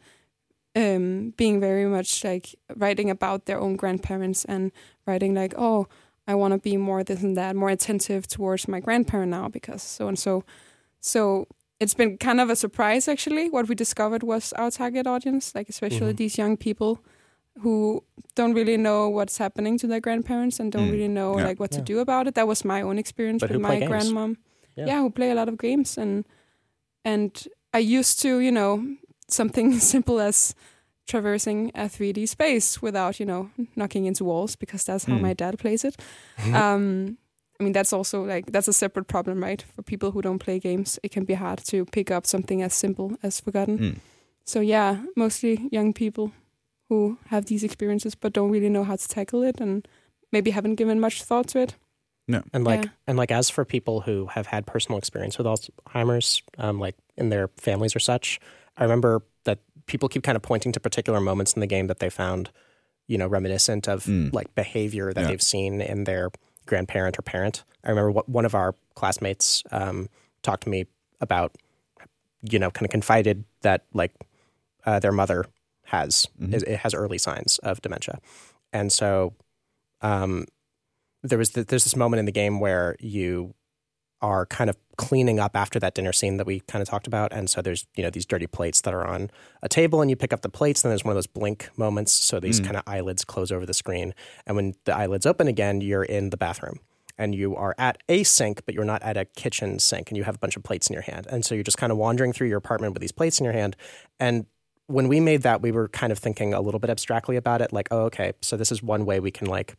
um, being very much like writing about their own grandparents and writing like, oh, I want to be more this and that, more attentive towards my grandparent now because so and so. So it's been kind of a surprise, actually. What we discovered was our target audience, like especially mm-hmm. these young people who don't really know what's happening to their grandparents and don't mm. really know yeah. like what yeah. to do about it. That was my own experience but with my games. grandmom. Yeah. yeah, who play a lot of games. And and I used to, you know, something simple as traversing a three D space without, you know, knocking into walls, because that's how Mm. my dad plays it. um, I mean, that's also like, that's a separate problem, right? For people who don't play games, it can be hard to pick up something as simple as Forgotten. Mm. So yeah, mostly young people who have these experiences but don't really know how to tackle it and maybe haven't given much thought to it. And like, Yeah. and like, as for people who have had personal experience with Alzheimer's, um, like in their families or such, I remember that people keep kind of pointing to particular moments in the game that they found, you know, reminiscent of Mm. like behavior that Yeah. they've seen in their grandparent or parent. I remember what one of our classmates um, talked to me about, you know, kind of confided that like uh, their mother has Mhm. is, it has early signs of dementia, and so um, there was th- there's this moment in the game where you are kind of cleaning up after that dinner scene that we kind of talked about, and so there's you know these dirty plates that are on a table, and you pick up the plates, and there's one of those blink moments, so these Mm. kind of eyelids close over the screen, and when the eyelids open again, you're in the bathroom. And you are at a sink, but you're not at a kitchen sink, and you have a bunch of plates in your hand. And so you're just kind of wandering through your apartment with these plates in your hand. And when we made that, we were kind of thinking a little bit abstractly about it, like, oh, okay, so this is one way we can like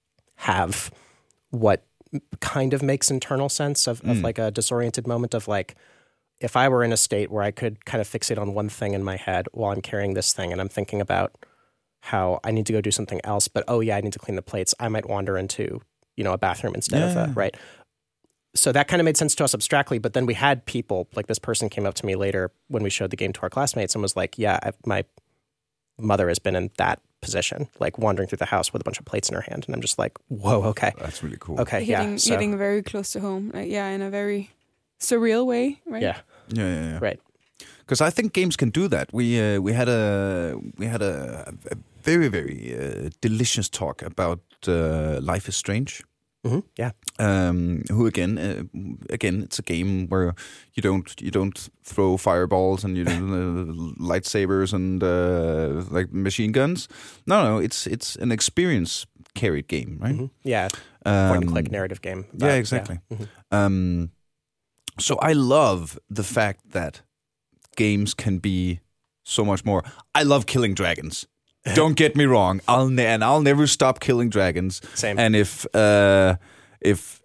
have what kind of makes internal sense of, of Mm. like a disoriented moment of like, if I were in a state where I could kind of fixate on one thing in my head while I'm carrying this thing and I'm thinking about how I need to go do something else, but oh yeah, I need to clean the plates, I might wander into, you know, a bathroom instead of Yeah. a, right? So that kind of made sense to us abstractly, but then we had people, like this person came up to me later when we showed the game to our classmates and was like, yeah, I've, my mother has been in that position, like wandering through the house with a bunch of plates in her hand. And I'm just like, whoa, okay. That's really cool. Okay, hitting, yeah. So, hitting very close to home. Like, yeah, in a very surreal way, right? yeah, Yeah, yeah, yeah. right. Because I think games can do that. We uh, we had a we had a, a very very uh, delicious talk about uh, Life is Strange. hmm Yeah. Um, who again? Uh, again, it's a game where you don't you don't throw fireballs and you don't, uh, lightsabers and uh, like machine guns. No, no, it's it's an experience carried game, right? hmm Yeah. Um, Point and click narrative game. about- yeah, exactly. Mhm. Um, so I love the fact that games can be so much more. I love killing dragons. Don't get me wrong. I'll ne- and I'll never stop killing dragons. Same. And if uh, if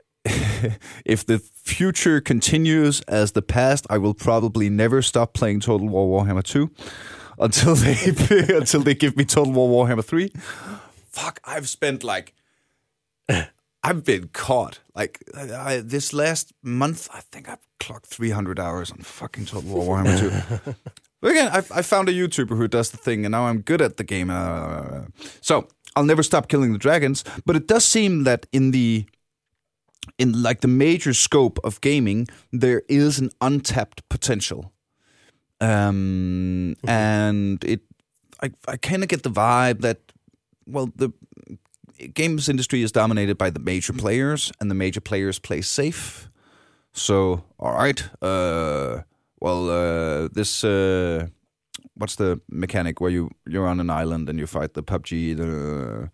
if the future continues as the past, I will probably never stop playing Total War Warhammer two until they until they give me Total War Warhammer three. Fuck, I've spent like I've been caught. Like I, this last month, I think I've clocked three hundred hours on fucking Total War Warhammer two. But again, I, I found a YouTuber who does the thing, and now I'm good at the game. Uh, so I'll never stop killing the dragons. But it does seem that in the in like the major scope of gaming, there is an untapped potential. Um, Mhm. and it, I, I kind of get the vibe that, well, the games industry is dominated by the major players, and the major players play safe. So, all right, uh, well, uh, this uh, what's the mechanic where you you're on an island and you fight the P U B G? The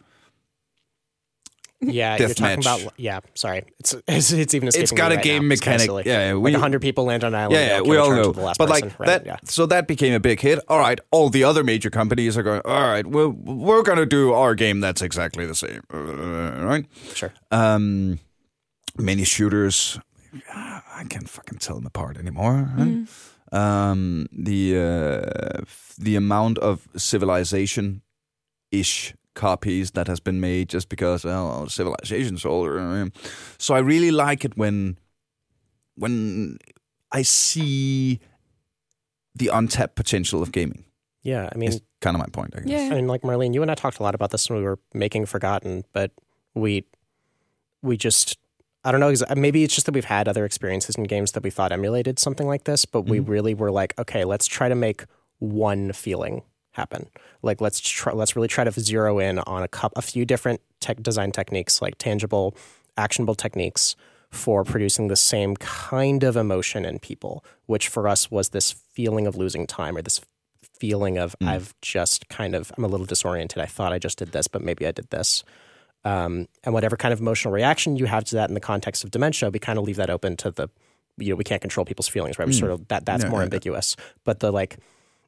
Yeah, you're talking Deathmatch. about. Yeah, sorry, it's it's, it's even escaping it's got me a right game now. It's kinda mechanic. silly. Yeah, yeah, Like we, a hundred people land on an island. yeah, they yeah, all we kill all each other know. to the last But person. like right? that, Yeah. so that became a big hit. All right, all the other major companies are going. All right, we're we're gonna do our game that's exactly the same, uh, right? Sure. Um, many shooters. I can't fucking tell them apart anymore. Right? Mm. Um, the uh, f- the amount of civilization ish copies that has been made just because well civilization's older. So I really like it when when I see the untapped potential of gaming. Yeah, I mean, Is kind of my point, I guess. Yeah. I mean, like Marlene, you and I talked a lot about this when we were making Forgotten, but we we just I don't know. exa- Maybe it's just that we've had other experiences in games that we thought emulated something like this, but we Mhm. really were like, okay, let's try to make one feeling happen. Like let's try, let's really try to zero in on a cup, a few different tech design techniques, like tangible, actionable techniques for producing the same kind of emotion in people, which for us was this feeling of losing time or this feeling of Mm. I've just kind of I'm a little disoriented. I thought I just did this, but maybe I did this. Um, and whatever kind of emotional reaction you have to that in the context of dementia, we kind of leave that open to the, you know, we can't control people's feelings, right? We Mm. sort of that that's Yeah, more yeah, yeah. ambiguous. But the like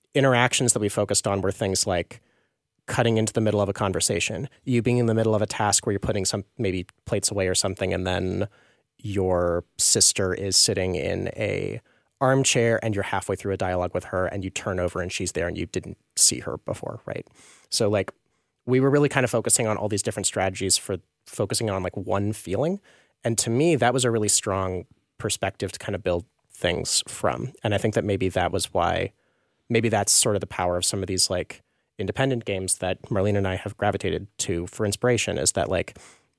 interactions that we focused on were things like cutting into the middle of a conversation, you being in the middle of a task where you're putting some maybe plates away or something, and then your sister is sitting in a armchair and you're halfway through a dialogue with her and you turn over and she's there and you didn't see her before, right? So like we were really kind of focusing on all these different strategies for focusing on like one feeling. And to me, that was a really strong perspective to kind of build things from. And I think that maybe that was why, maybe that's sort of the power of some of these like independent games that Marlene and I have gravitated to for inspiration, is that like,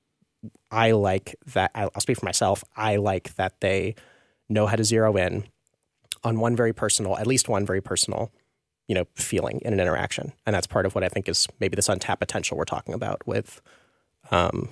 I like that, I'll speak for myself, I like that they know how to zero in on one very personal, at least one very personal, you know, feeling in an interaction. And that's part of what I think is maybe this untapped potential we're talking about with um,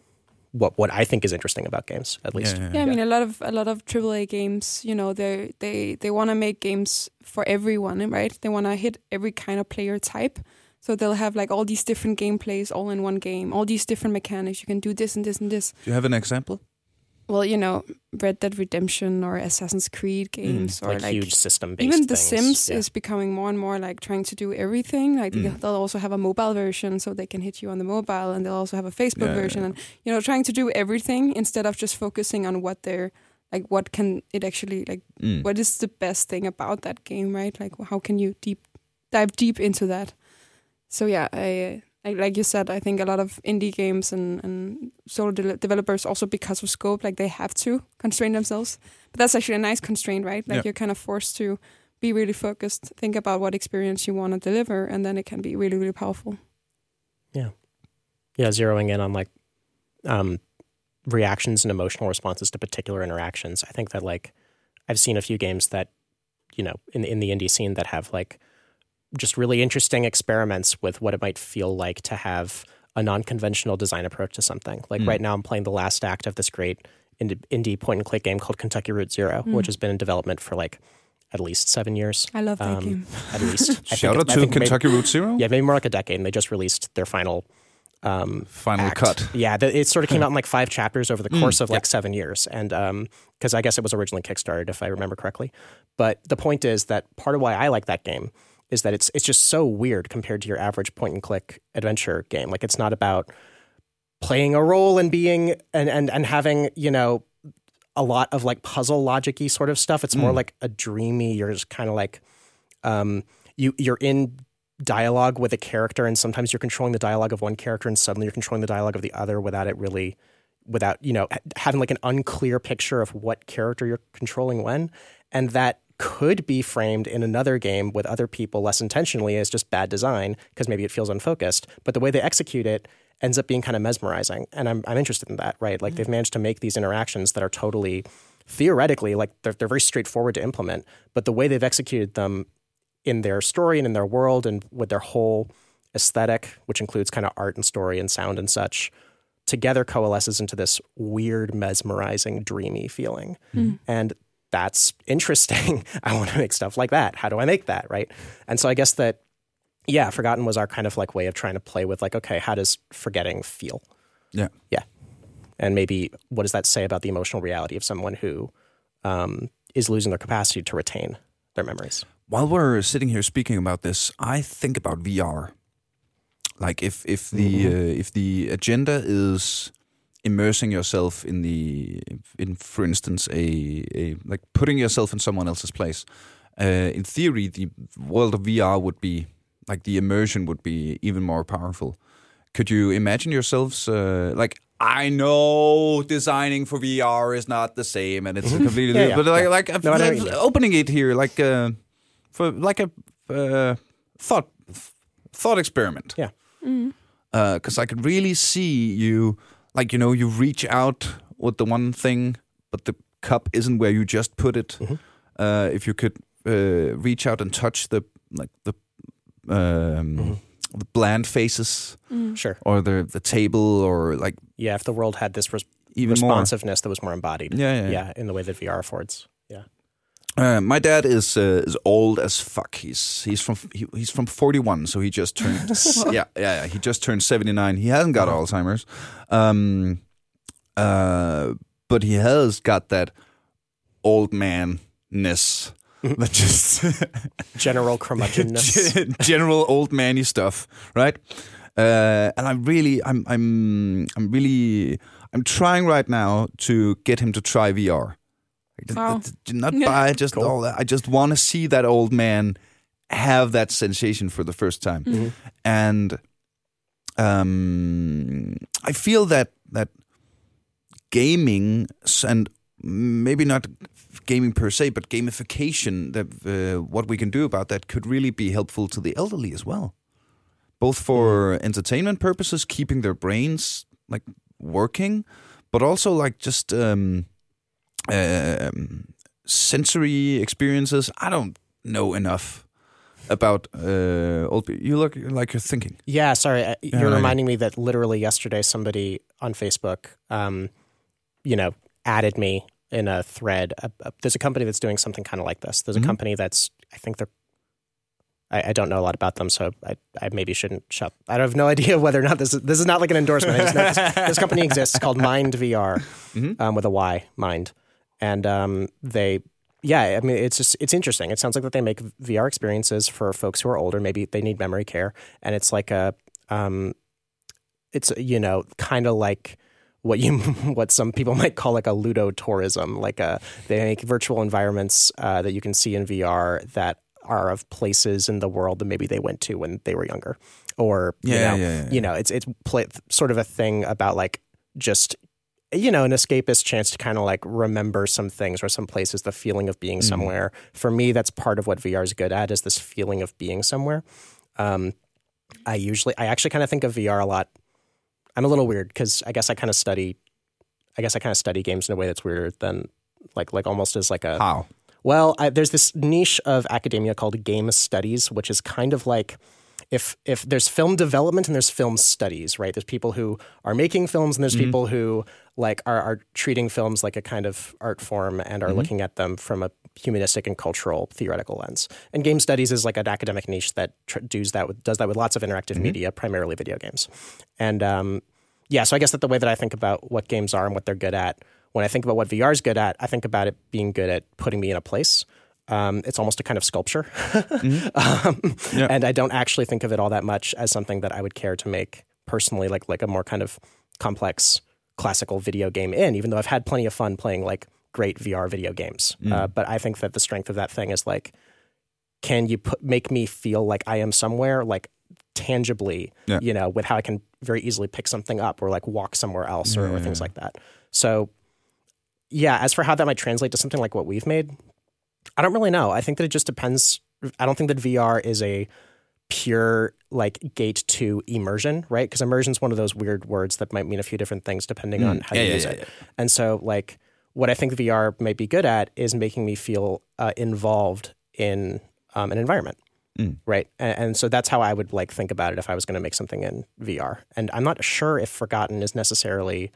what what I think is interesting about games, at least. Yeah, yeah, yeah. yeah I mean, a lot of a lot of triple A games, you know, they they they want to make games for everyone, right? They want to hit every kind of player type. So they'll have like all these different gameplays all in one game, all these different mechanics. You can do this and this and this. Do you have an example? Well, you know, Red Dead Redemption or Assassin's Creed games, mm, or like, like huge system-based even The things. Sims yeah. is becoming more and more like trying to do everything. Like mm. they'll also have a mobile version, so they can hit you on the mobile, and they'll also have a Facebook yeah, version, yeah. and you know, trying to do everything instead of just focusing on what they're like. What can it actually like? Mm. What is the best thing about that game, right? Like, how can you deep dive deep into that? So yeah, I. I, like you said, I think a lot of indie games and, and solo de- developers also, because of scope, like they have to constrain themselves. But that's actually a nice constraint, right? Like yeah. you're kind of forced to be really focused, think about what experience you want to deliver, and then it can be really, really powerful. Yeah. Yeah, zeroing in on like um, reactions and emotional responses to particular interactions. I think that like I've seen a few games that, you know, in, in the indie scene that have like just really interesting experiments with what it might feel like to have a non-conventional design approach to something. Like mm. right now I'm playing the last act of this great indie, indie point-and-click game called Kentucky Route Zero, mm. which has been in development for like at least seven years. I love that um, game. At least. Shout out to Kentucky maybe, Route Zero? Yeah, maybe more like a decade, and they just released their final um, Final act. cut. Yeah, the, it sort of came out in like five chapters over the course mm, of like yeah. seven years. And because um, I guess it was originally Kickstarted, if I remember correctly. But the point is that part of why I like that game is that it's it's just so weird compared to your average point-and-click adventure game. Like, it's not about playing a role and being and and and having, you know, a lot of like puzzle logic-y sort of stuff. It's more mm. like a dreamy, you're just kind of like um you you're in dialogue with a character, and sometimes you're controlling the dialogue of one character and suddenly you're controlling the dialogue of the other without it really without, you know, having like an unclear picture of what character you're controlling when. And that could be framed in another game with other people less intentionally as just bad design because maybe it feels unfocused. But the way they execute it ends up being kind of mesmerizing. And I'm I'm interested in that, right? Like mm-hmm. they've managed to make these interactions that are totally, theoretically, like they're, they're very straightforward to implement. But the way they've executed them in their story and in their world and with their whole aesthetic, which includes kind of art and story and sound and such, together coalesces into this weird, mesmerizing, dreamy feeling. Mm-hmm. And that's interesting. I want to make stuff like that. How do I make that, right? And so I guess that, yeah, Forgotten was our kind of like way of trying to play with like, okay, how does forgetting feel? Yeah. Yeah. And maybe what does that say about the emotional reality of someone who um, is losing their capacity to retain their memories? While we're sitting here speaking about this, I think about V R. Like if, if the mm-hmm. uh, if the agenda is immersing yourself in the, in for instance, a, a like putting yourself in someone else's place. Uh, in theory, the world of V R would be like the immersion would be even more powerful. Could you imagine yourselves uh, like? I know designing for V R is not the same, and it's completely. yeah, yeah, but like, yeah. like, no, like opening it here, like uh, for like a uh, thought thought experiment. Yeah. Mm. Because uh, I could really see you. Like, you know, you reach out with the one thing, but the cup isn't where you just put it. Mm-hmm. Uh, if you could uh, reach out and touch the like the um, mm-hmm. the bland faces, mm. sure, or the the table, or like yeah, if the world had this res- even responsiveness more. that was more embodied, yeah, yeah, yeah, yeah, in the way that V R affords, yeah. Uh, my dad is uh, is old as fuck. He's he's from he, he's from forty-one, so he just turned yeah, yeah yeah he just turned seventy-nine. He hasn't got oh. Alzheimer's, um, uh, but he has got that old man-ness that just general curmudgeonness, general old manny stuff, right? Uh, and I'm really, I'm, I'm, I'm really, I'm trying right now to get him to try V R. Oh. Not buy just Cool. all that. I just want to see that old man have that sensation for the first time, Mm-hmm. and um, I feel that that gaming and maybe not gaming per se, but gamification, that uh, what we can do about that could really be helpful to the elderly as well, both for mm. entertainment purposes, keeping their brains like working, but also like just um, um, sensory experiences. I don't know enough about uh, old people. You look like you're thinking. Yeah, sorry. Uh, you're Yeah, reminding me that literally yesterday somebody on Facebook, um, you know, added me in a thread. Uh, uh, there's a company that's doing something kind of like this. There's a Mhm. company that's, I think they're, I, I don't know a lot about them, so I, I maybe shouldn't shut. I have no idea whether or not this is, this is not like an endorsement. I just know this, this company exists called Mind V R, Mhm. um, with a Y, Mind. And um, they, yeah, I mean, it's just, it's interesting. It sounds like that they make V R experiences for folks who are older. Maybe they need memory care. And it's like a, um, it's, you know, kind of like what you, what some people might call like a ludotourism. Like a, they make virtual environments uh, that you can see in V R that are of places in the world that maybe they went to when they were younger. Or, you Yeah, know, yeah, yeah, yeah. you know, it's, it's play, sort of a thing about like just, you know, an escapist chance to kind of like remember some things or some places, the feeling of being Mm. somewhere. For me, that's part of what V R is good at, is this feeling of being somewhere. Um, I usually, I actually kind of think of V R a lot. I'm a little weird because I guess I kind of study, I guess I kind of study games in a way that's weirder than like, like almost as like a, How? well, I, there's this niche of academia called game studies, which is kind of like, if if there's film development and there's film studies, right? There's people who are making films and there's Mm-hmm. people who like are, are treating films like a kind of art form and are Mm-hmm. looking at them from a humanistic and cultural theoretical lens. And game studies is like an academic niche that tr- does that with, does that with lots of interactive Mm-hmm. media, primarily video games. And um, yeah, so I guess that the way that I think about what games are and what they're good at, when I think about what V R is good at, I think about it being good at putting me in a place. Um, it's almost a kind of sculpture. Mm-hmm. um, Yeah. And I don't actually think of it all that much as something that I would care to make personally, like like a more kind of complex classical video game in, even though I've had plenty of fun playing like great V R video games. Mm. Uh, but I think that the strength of that thing is like, can you put, make me feel like I am somewhere, like tangibly, Yeah. you know, with how I can very easily pick something up or like walk somewhere else or, Yeah, or yeah, things yeah. like that. So yeah, as for how that might translate to something like what we've made, I don't really know. I think that it just depends. I don't think that V R is a pure like gate to immersion, right? Because immersion is one of those weird words that might mean a few different things depending Mm. on how Yeah, you yeah, use yeah, it. yeah. And so like what I think V R may be good at is making me feel uh, involved in um, an environment. Mm. Right. And, and so that's how I would like think about it if I was going to make something in V R. And I'm not sure if Forgotten is necessarily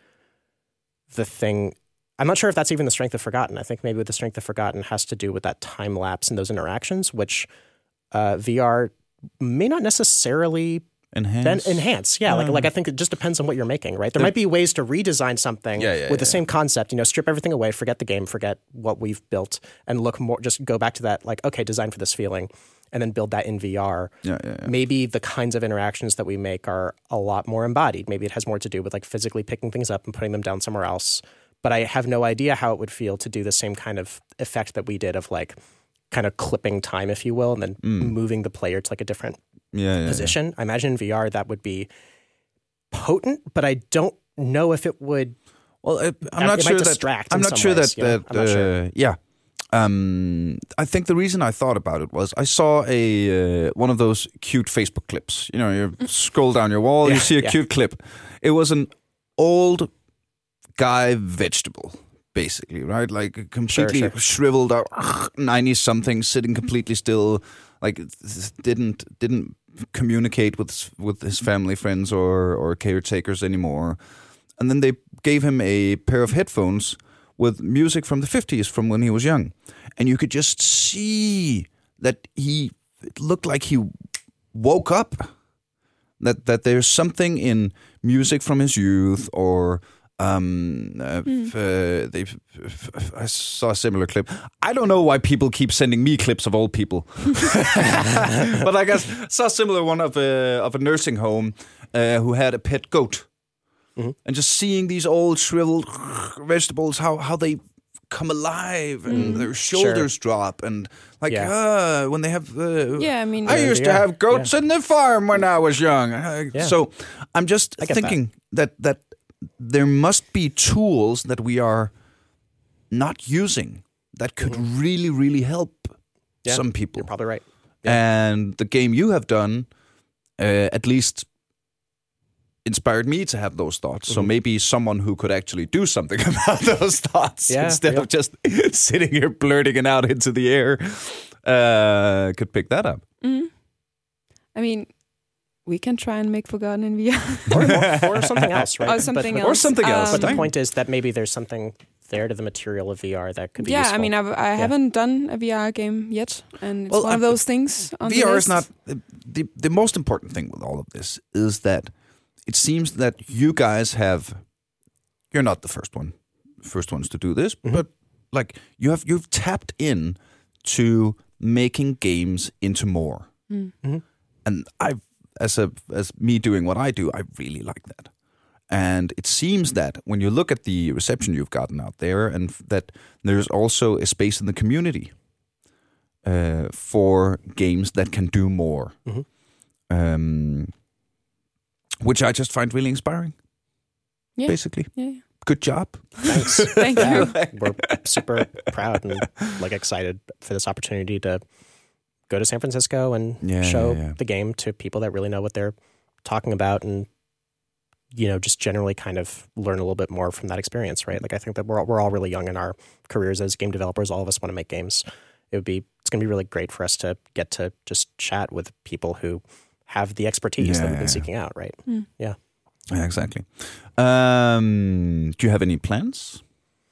the thing. I'm not sure if that's even the strength of Forgotten. I think maybe the strength of Forgotten has to do with that time lapse and those interactions, which uh, V R may not necessarily Enhance. then enhance. Yeah, like Um, like I think it just depends on what you're making, right? There might be ways to redesign something Yeah, yeah, with the yeah. same concept, you know, strip everything away, forget the game, forget what we've built, and look more, just go back to that, like, okay, design for this feeling, and then build that in V R. Yeah, yeah, yeah. Maybe the kinds of interactions that we make are a lot more embodied. Maybe it has more to do with like physically picking things up and putting them down somewhere else. But I have no idea how it would feel to do the same kind of effect that we did of like kind of clipping time, if you will, and then moving the player to like a different yeah, yeah, position. I imagine in V R that would be potent, but I don't know if it would. Well, I, I'm It not might sure that. distract I'm in not some sure ways, that. you know? that I'm not sure. uh, Yeah. Um, I think the reason I thought about it was I saw a uh, one of those cute Facebook clips. You know, you scroll down your wall, you Yeah, see a yeah. cute clip. It was an old guy vegetable, basically, right? Like completely Sure, sure. shriveled up, ninety something, sitting completely still, like didn't didn't communicate with with his family, friends, or or caretakers anymore. And then they gave him a pair of headphones with music from the fifties, from when he was young, and you could just see that he it looked like he woke up. That that there's something in music from his youth, or Um, uh, mm. uh, they, I saw a similar clip. I don't know why people keep sending me clips of old people, but I guess saw a similar one of a of a nursing home uh, who had a pet goat, mm-hmm. and just seeing these old shriveled vegetables, how how they come alive and mm. their shoulders sure. drop and like yeah. uh, when they have. Uh, yeah, I mean, I used yeah. to have goats yeah. in the farm when I was young. Uh, yeah. So I'm just thinking that. that that. There must be tools that we are not using that could mm-hmm. really, really help yeah, some people. You're probably right. Yeah. And the game you have done, uh, at least, inspired me to have those thoughts. Mm-hmm. So maybe someone who could actually do something about those thoughts yeah, instead yeah. of just sitting here blurting it out into the air, uh, could pick that up. Mm-hmm. I mean... We can try and make Forgotten in V R. or, or, or something else, right? Or something but, else. Or something else. Um, but the point is that maybe there's something there to the material of V R that could be yeah, useful. I mean, I've, I yeah. haven't done a V R game yet, and it's well, one of those things on V R the is not... The, the most important thing with all of this is that it seems that you guys have... You're not the first one, first ones to do this, mm-hmm. but like you have, you've tapped in to making games into more. Mm-hmm. And I've As a as me doing what I do, I really like that. And it seems that when you look at the reception you've gotten out there, and that there's also a space in the community uh, for games that can do more, mm-hmm. um, which I just find really inspiring. Yeah. Basically, yeah. Good job. Thanks. Thank you. We're super proud and like excited for this opportunity to go to San Francisco and yeah, show yeah, yeah. the game to people that really know what they're talking about, and you know, just generally kind of learn a little bit more from that experience, right? Like I think that we're we're all really young in our careers as game developers. All of us want to make games. It would be it's going to be really great for us to get to just chat with people who have the expertise yeah, that we've been yeah. seeking out, right? Mm. Yeah. Yeah, exactly. Um, do you have any plans?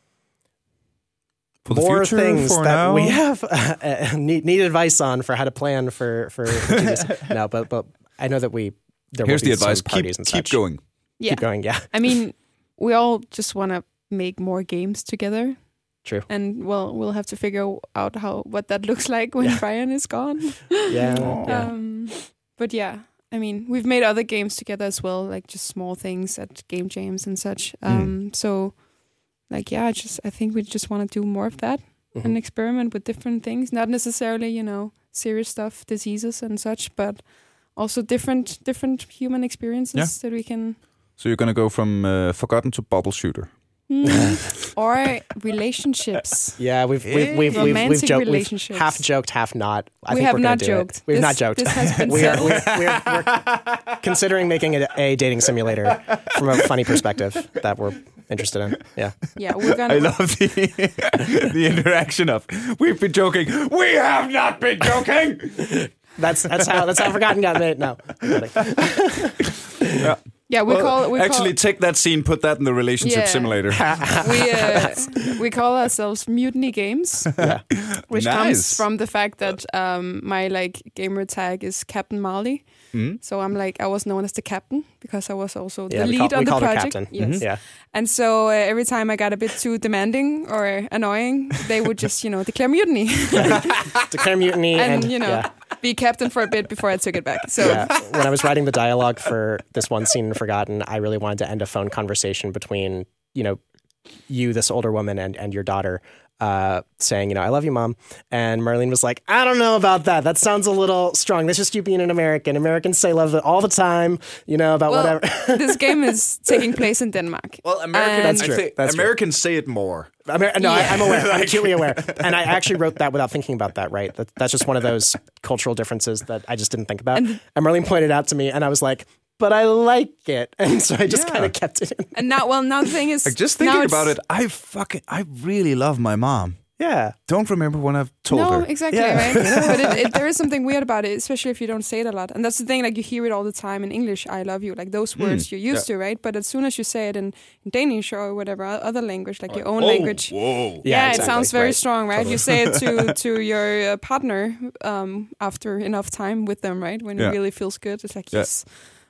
For the More future, things for that now? we have uh, need, need advice on for how to plan for for, for no, but but I know that we there here's will be the advice: some parties keep and keep such. going, Yeah. keep going. Yeah, I mean, we all just want to make more games together. True. And well, we'll have to figure out how what that looks like when yeah. Brian is gone. yeah, yeah. Um, but yeah, I mean, we've made other games together as well, like just small things at game jams and such. Um, Mm. So, like, yeah, I just I think we just want to do more of that. Mm-hmm. And experiment with different things, not necessarily, you know, serious stuff, diseases and such, but also different different human experiences Yeah. that we can... So you're going to go from uh, Forgotten to Bubble Shooter. Mm. Or relationships. Yeah, we've we've we've we've, we've, Romantic joked, we've relationships. half joked, half not. I We think have we're gonna not do joked. It. We've This- not joked. this has been we are said. we're, we're, we're considering making it a dating simulator from a funny perspective that we're interested in. Yeah, Yeah, we're gonna... I love the the interaction of we've been joking. We have not been joking. that's that's how that's how Forgotten got made. No, I'm kidding. Yeah. Yeah, we Well, call... We actually, call, take that scene, put that in the relationship Yeah. simulator. we uh, we call ourselves Mutiny Games, yeah. which Nice. comes from the fact that um, my like gamer tag is Captain Marley. Mm. So I'm like I was known as the captain because I was also Yeah, the we lead call, on we the called her project. captain. Yes, Mhm. Yeah, and so uh, every time I got a bit too demanding or annoying, they would just you know declare mutiny declare mutiny and, and, you know yeah. be captain for a bit before I took it back. So Yeah. When I was writing the dialogue for this one scene in Forgotten, I really wanted to end a phone conversation between, you know, you, this older woman, and, and your daughter, uh, saying, you know, I love you, Mom. And Marlene was like, I don't know about that. That sounds a little strong. That's just you being an American. Americans say love all the time, you know, about well, whatever. this game is taking place in Denmark. Well, Americans, And- That's true. I think That's true. Americans say it more. Amer- no, Yeah. I, I'm aware. I'm acutely aware. And I actually wrote that without thinking about that, right? That, that's just one of those cultural differences that I just didn't think about. And- And Marlene pointed out to me, and I was like, but I like it. And so I just Yeah. kind of kept it in. And now, well, now the thing is, Like just now thinking it's- about it, I fucking I really love my mom. Yeah. Don't remember when I've told no, her. exactly, Yeah. right? But it, it, there is something weird about it, especially if you don't say it a lot. And that's the thing, like you hear it all the time in English, I love you, like those words Mm, you're used yeah. to, right? But as soon as you say it in, in Danish or whatever, o- other language, like your own Oh, language. Whoa. Yeah, Yeah, it exactly, sounds very right. strong, right? Totally. You say it to to your uh, partner um, after enough time with them, right? When Yeah. it really feels good. It's like, Yeah. yes,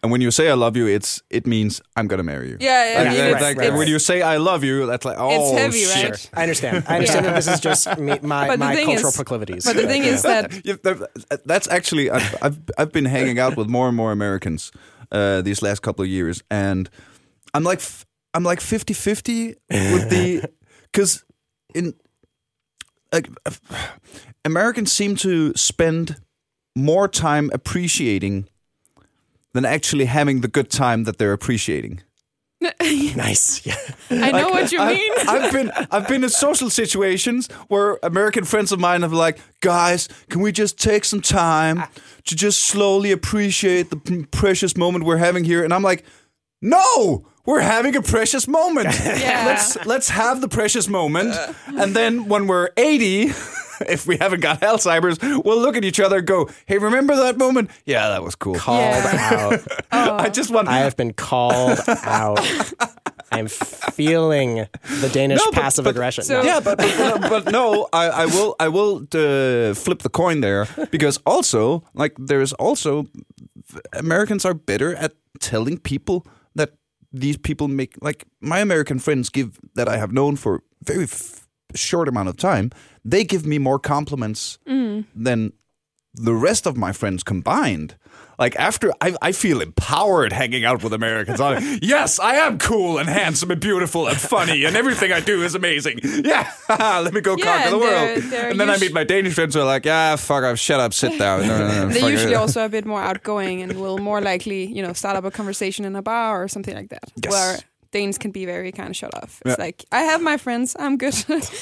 And when you say I love you, it's it means I'm gonna marry you. Yeah, yeah. Like, I mean, like, it's, like, it's, when you say I love you, that's like oh it's heavy, shit. right? I understand. I understand Yeah. that this is just me, my, But the my thing cultural is- proclivities. But the thing is that Yeah, that- that's actually I've, I've I've been hanging out with more and more Americans uh, these last couple of years, and I'm like f- I'm like fifty-fifty with the because in like Americans seem to spend more time appreciating than actually having the good time that they're appreciating. nice. Yeah. I know what you I've, mean. I've been I've been in social situations where American friends of mine have like, guys, can we just take some time to just slowly appreciate the p- precious moment we're having here? And I'm like, no, we're having a precious moment. Yeah. Let's let's have the precious moment, and then when we're eighty. If we haven't got Alzheimer's, we'll look at each other and go, hey, remember that moment? Yeah, that was cool. Called Yeah. out. I just want... I have been called out. I'm feeling the Danish No, but- passive but- aggression. so- No. Yeah, but but, but no, I, I will I will uh, flip the coin there, because also like there's also Americans are better at telling people that these people make, like my American friends give that I have known for very f- short amount of time, they give me more compliments Mm. than the rest of my friends combined. Like after I, I feel empowered hanging out with Americans. I'm like, yes, I am cool and handsome and beautiful and funny and everything I do is amazing. Yeah, let me go Yeah, conquer the and world. they're- they're and then I usu- meat my Danish friends who are like, yeah, fuck off, shut up, sit down. No, no, no, fuck They're usually it. also a bit more outgoing and will more likely, you know, start up a conversation in a bar or something like that. Yes. Where Danes can be very kind of shut off. It's Yeah. like, I have my friends, I'm good.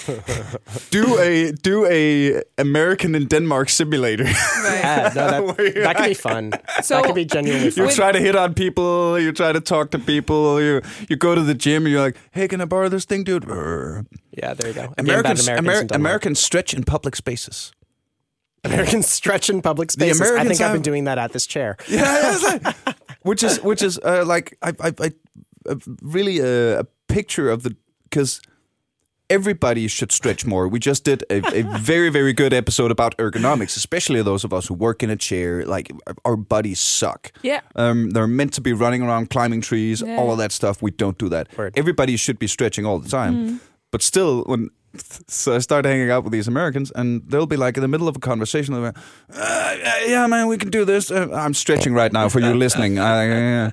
do a do a American in Denmark simulator. Right. Yeah, no, that, that could be fun. So- that could be genuinely You fun. try to hit on people. You try to talk to people. You you go to the gym and you're like, hey, can I borrow this thing, dude? Urgh. Yeah, there you go. A game about Americans, Americans, Amer- in Denmark. Americans stretch in public spaces. Americans stretch in public spaces. I Americans think I've have- been doing that at this chair. Yeah, it's like- which is which is uh, like I I, I uh, really a, a picture of the, because everybody should stretch more. We just did a, a very very good episode about ergonomics, especially those of us who work in a chair. Like our bodies suck. Yeah. Um, they're meant to be running around, climbing trees, Yeah. all of that stuff. We don't do that. Word. Everybody should be stretching all the time. But still, when so I started hanging out with these Americans, and they'll be like in the middle of a conversation, they'll be, uh, yeah, man, we can do this. Uh, I'm stretching right now for you listening. Uh,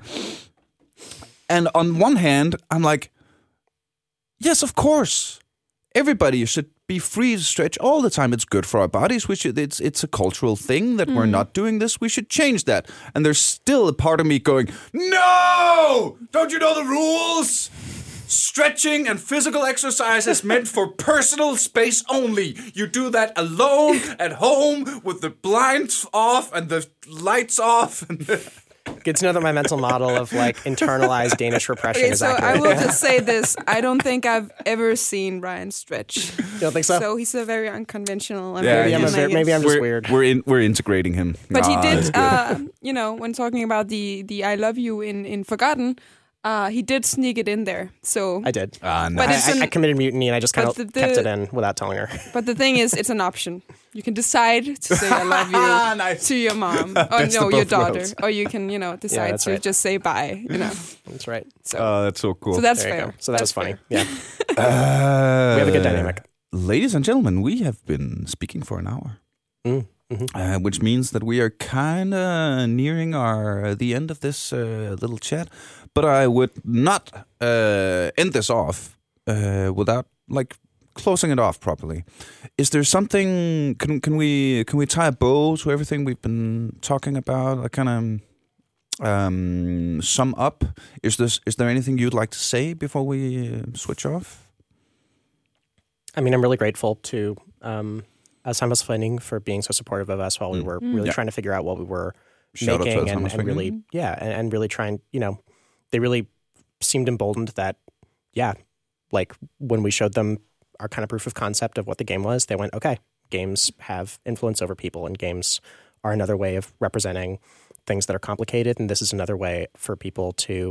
and on one hand, I'm like, yes, of course, everybody should be free to stretch all the time. It's good for our bodies. We should. It's it's a cultural thing that we're not doing this. We should change that. And there's still a part of me going, no, don't you know the rules? Stretching and physical exercise is meant for personal space only. You do that alone at home with the blinds off and the lights off. And the Good to know that my mental model of like internalized Danish repression Okay, is so accurate. I will just say this. I don't think I've ever seen Ryan stretch. You don't think so? So he's a very unconventional. And Yeah, very maybe, I'm a he's- ver- maybe I'm just we're, weird. We're in, we're integrating him. But he Ah, did, that's good. uh, you know, when talking about the the I love you in in Forgotten, uh, he did sneak it in there. So, I did. Ah, But I, it's I, an- I committed mutiny and I just kind of but the- kept the- it in without telling her. but the thing is, it's an option. You can decide to say I love you Nice. to your mom, or Best no, of your both daughter, worlds. or you can, you know, decide that's to right. just say bye. You know, That's right. so Oh, that's so cool. so that's There you fair. go. So that That's was funny. fair. Yeah. Uh, We have a good dynamic. Ladies and gentlemen, we have been speaking for an hour. Mm, mhm. Uh, which means that we are kind of nearing our the end of this uh, little chat. But I would not uh, end this off uh, without like closing it off properly. Is there something? Can can we can we tie a bow to everything we've been talking about? I kind of um, sum up. Is this? Is there anything you'd like to say before we uh, switch off? I mean, I'm really grateful to um, Alzheimer's Funding for being so supportive of us while we were really Yeah. trying to figure out what we were Shout out to making and, Alzheimer's and Funding. really, yeah, and, and really trying, you know, they really seemed emboldened that, yeah, like when we showed them our kind of proof of concept of what the game was, they went, okay, games have influence over people and games are another way of representing things that are complicated. And this is another way for people to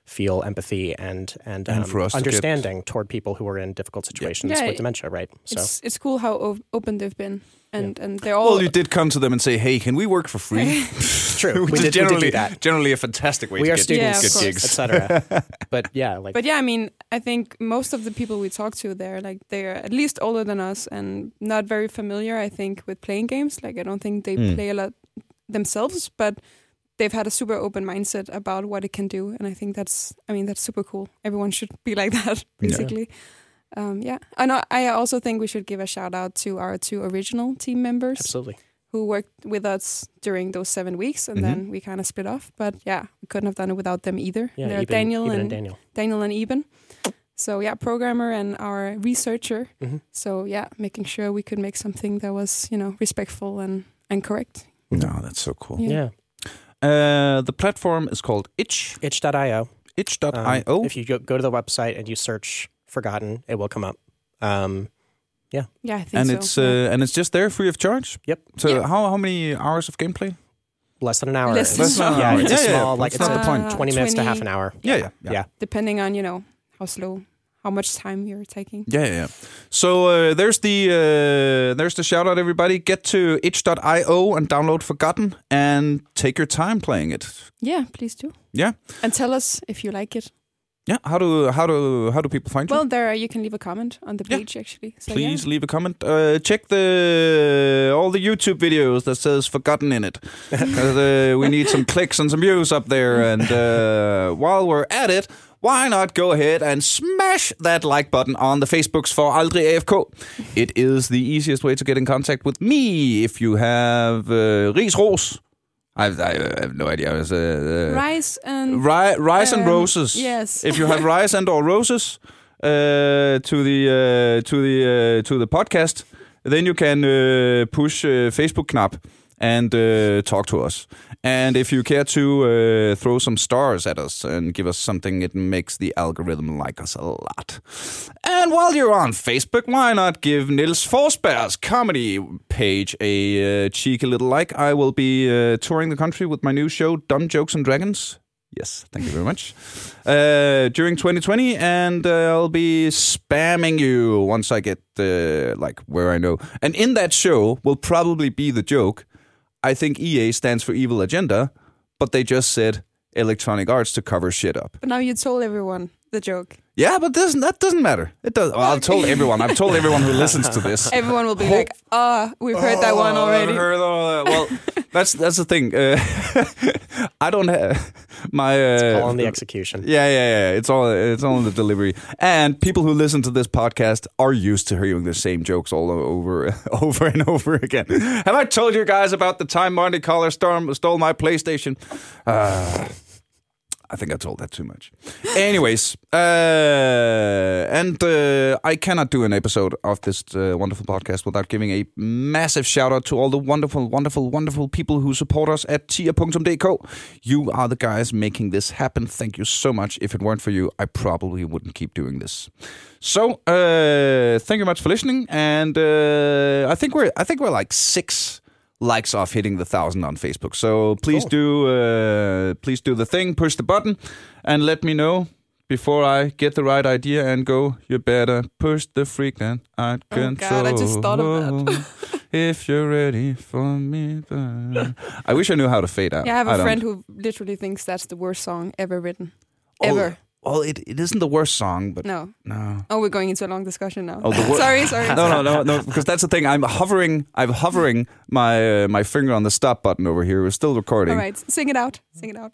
feel empathy and and, And um, for us to get- understanding toward people who are in difficult situations Yeah, with it- dementia, right? So It's it's cool how o- open they've been, and and they're all. Well, you did come to them and say, "Hey, can we work for free?" it's true. Which we, is did, we generally did do that. generally a fantastic way We to are get, students, Yeah, of get course. gigs. et cetera. But yeah, like But yeah, I mean, I think most of the people we talk to, they're like they're at least older than us and not very familiar. I think with playing games. Like I don't think they Mm. play a lot themselves, but they've had a super open mindset about what it can do, and I think that's. I mean, that's super cool. Everyone should be like that, basically. Yeah. Um, yeah, and I I also think we should give a shout out to our two original team members absolutely. who worked with us during those seven weeks, and Mhm. then we kind of split off. But yeah, we couldn't have done it without them either. Yeah, They're Eben, Daniel Eben and, and Daniel. Daniel and Eben. So yeah, programmer and our researcher. Mhm. So yeah, making sure we could make something that was, you know, respectful and, and correct. No, that's so cool. Yeah. Yeah. Uh, the platform is called Itch. itch dot io. Itch dot Um, io. If you go, go to the website and you search Forgotten, it will come up. Um, Yeah, I think and so. it's Yeah. uh, and it's just there free of charge. Yep. So Yeah. how how many hours of gameplay? less than an hour. Less than It's- an hour. Yeah, it's Yeah, a yeah, small, yeah. like That's it's not the a point. twenty minutes to half an twenty hour. Yeah, yeah, yeah. Yeah. Depending on, you know, how slow, how much time you're taking. Yeah, yeah, yeah. So uh, there's the uh, there's the shout out, everybody. Get to itch dot io and download Forgotten and take your time playing it. Yeah, please do. Yeah, And tell us if you like it. yeah. How do how do how do people find you? Well, there you can leave a comment on the Yeah. page actually. So, Please leave a comment. Uh, check the all the YouTube videos that says Forgotten in it. 'Cause, uh, we need some clicks and some views up there. And uh, while we're at it, why not go ahead and smash that like button on the Facebooks for Aldrig A F K? It is the easiest way to get in contact with me. If you have uh, ris ros, I, I have no idea. It was, uh, uh, Rice and Ri- rice and Um, roses. yes. If you have rice and or roses uh, to the uh, to the uh, to the podcast, then you can uh, push uh, Facebook knap and uh, talk to us. And if you care to uh, throw some stars at us and give us something, it makes the algorithm like us a lot. And while you're on Facebook, why not give Niels Forsberg's comedy page a uh, cheeky little like? I will be uh, touring the country with my new show, Dumb Jokes and Dragons. Yes, thank you very much. Uh, during twenty twenty, and uh, I'll be spamming you once I get uh, like where I know. And in that show will probably be the joke. I think E A stands for Evil Agenda, but they just said Electronic Arts to cover shit up. But now you told everyone the joke. Yeah, but doesn't that doesn't matter. It does. Well, I've told everyone. I've told everyone who listens to this. Everyone will be like, "Ah, we've heard that one already." I've heard all that. Well, that's that's the thing. Uh, I don't have my. Uh, All on the execution. Yeah, yeah, yeah. It's all it's all in the delivery. And people who listen to this podcast are used to hearing the same jokes all over, over and over again. Have I told you guys about the time Monte Caller storm stole my PlayStation? Uh, I think I told that too much. Anyways, uh, and uh, I cannot do an episode of this uh, wonderful podcast without giving a massive shout out to all the wonderful, wonderful, wonderful people who support us at tier dot d k. You are the guys making this happen. Thank you so much. If it weren't for you, I probably wouldn't keep doing this. So, uh, thank you much for listening. And uh, I think we're I think we're like six likes off hitting the thousand on Facebook. So please Cool. do uh, please do the thing, push the button, and let me know before I get the right idea and go. You better push the freaking out Oh, God, control. I just thought of that. If you're ready for me, I wish I knew how to fade out. Yeah, I have a don't. friend who literally thinks that's the worst song ever written. Oh, Ever. Well, it, it isn't the worst song, but No. no. Oh, we're going into a long discussion now. Oh, the wor- sorry, sorry. No, no, no, no. Because that's the thing. I'm hovering. I'm hovering my uh, my finger on the stop button over here. We're still recording. All right, sing it out. Sing it out.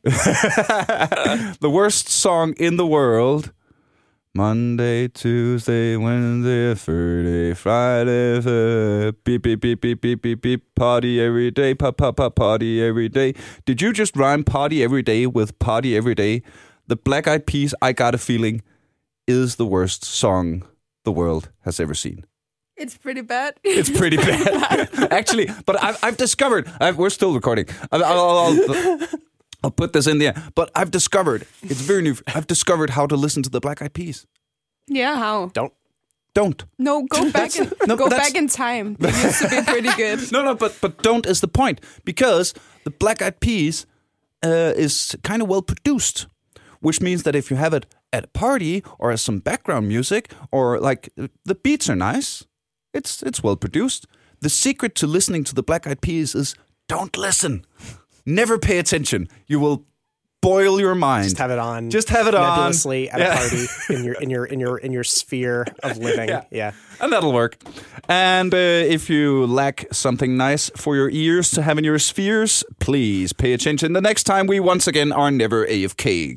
The worst song in the world. Monday, Tuesday, Wednesday, Thursday, Friday, uh, beep, beep, beep, beep, beep, beep, beep, party every day, pop, pop, pop, party every day. Did you just rhyme party every day with party every day? The Black Eyed Peas, I Got a Feeling, is the worst song the world has ever seen. It's pretty bad. It's pretty bad. Actually, but I've, I've discovered, I've, we're still recording. I'll, I'll, I'll, I'll put this in there. But I've discovered, it's very new, I've discovered how to listen to the Black Eyed Peas. Yeah, how? Don't. Don't. No, go back and no, go that's- back in time. They used to be pretty good. No, no, but but don't is the point. Because the Black Eyed Peas uh, is kind of well produced. which means that if you have it at a party or as some background music or like the beats are nice, it's it's well produced. The secret to listening to the Black Eyed Peas is don't listen. Never pay attention. You will boil your mind. Just have it on. Just have it nebulously on at yeah. a party in your in your in your in your sphere of living. Yeah, yeah. And that'll work. And uh, if you lack something nice for your ears to have in your spheres, please pay attention the next time we once again are never A F K.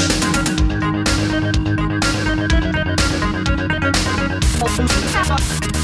Fuck.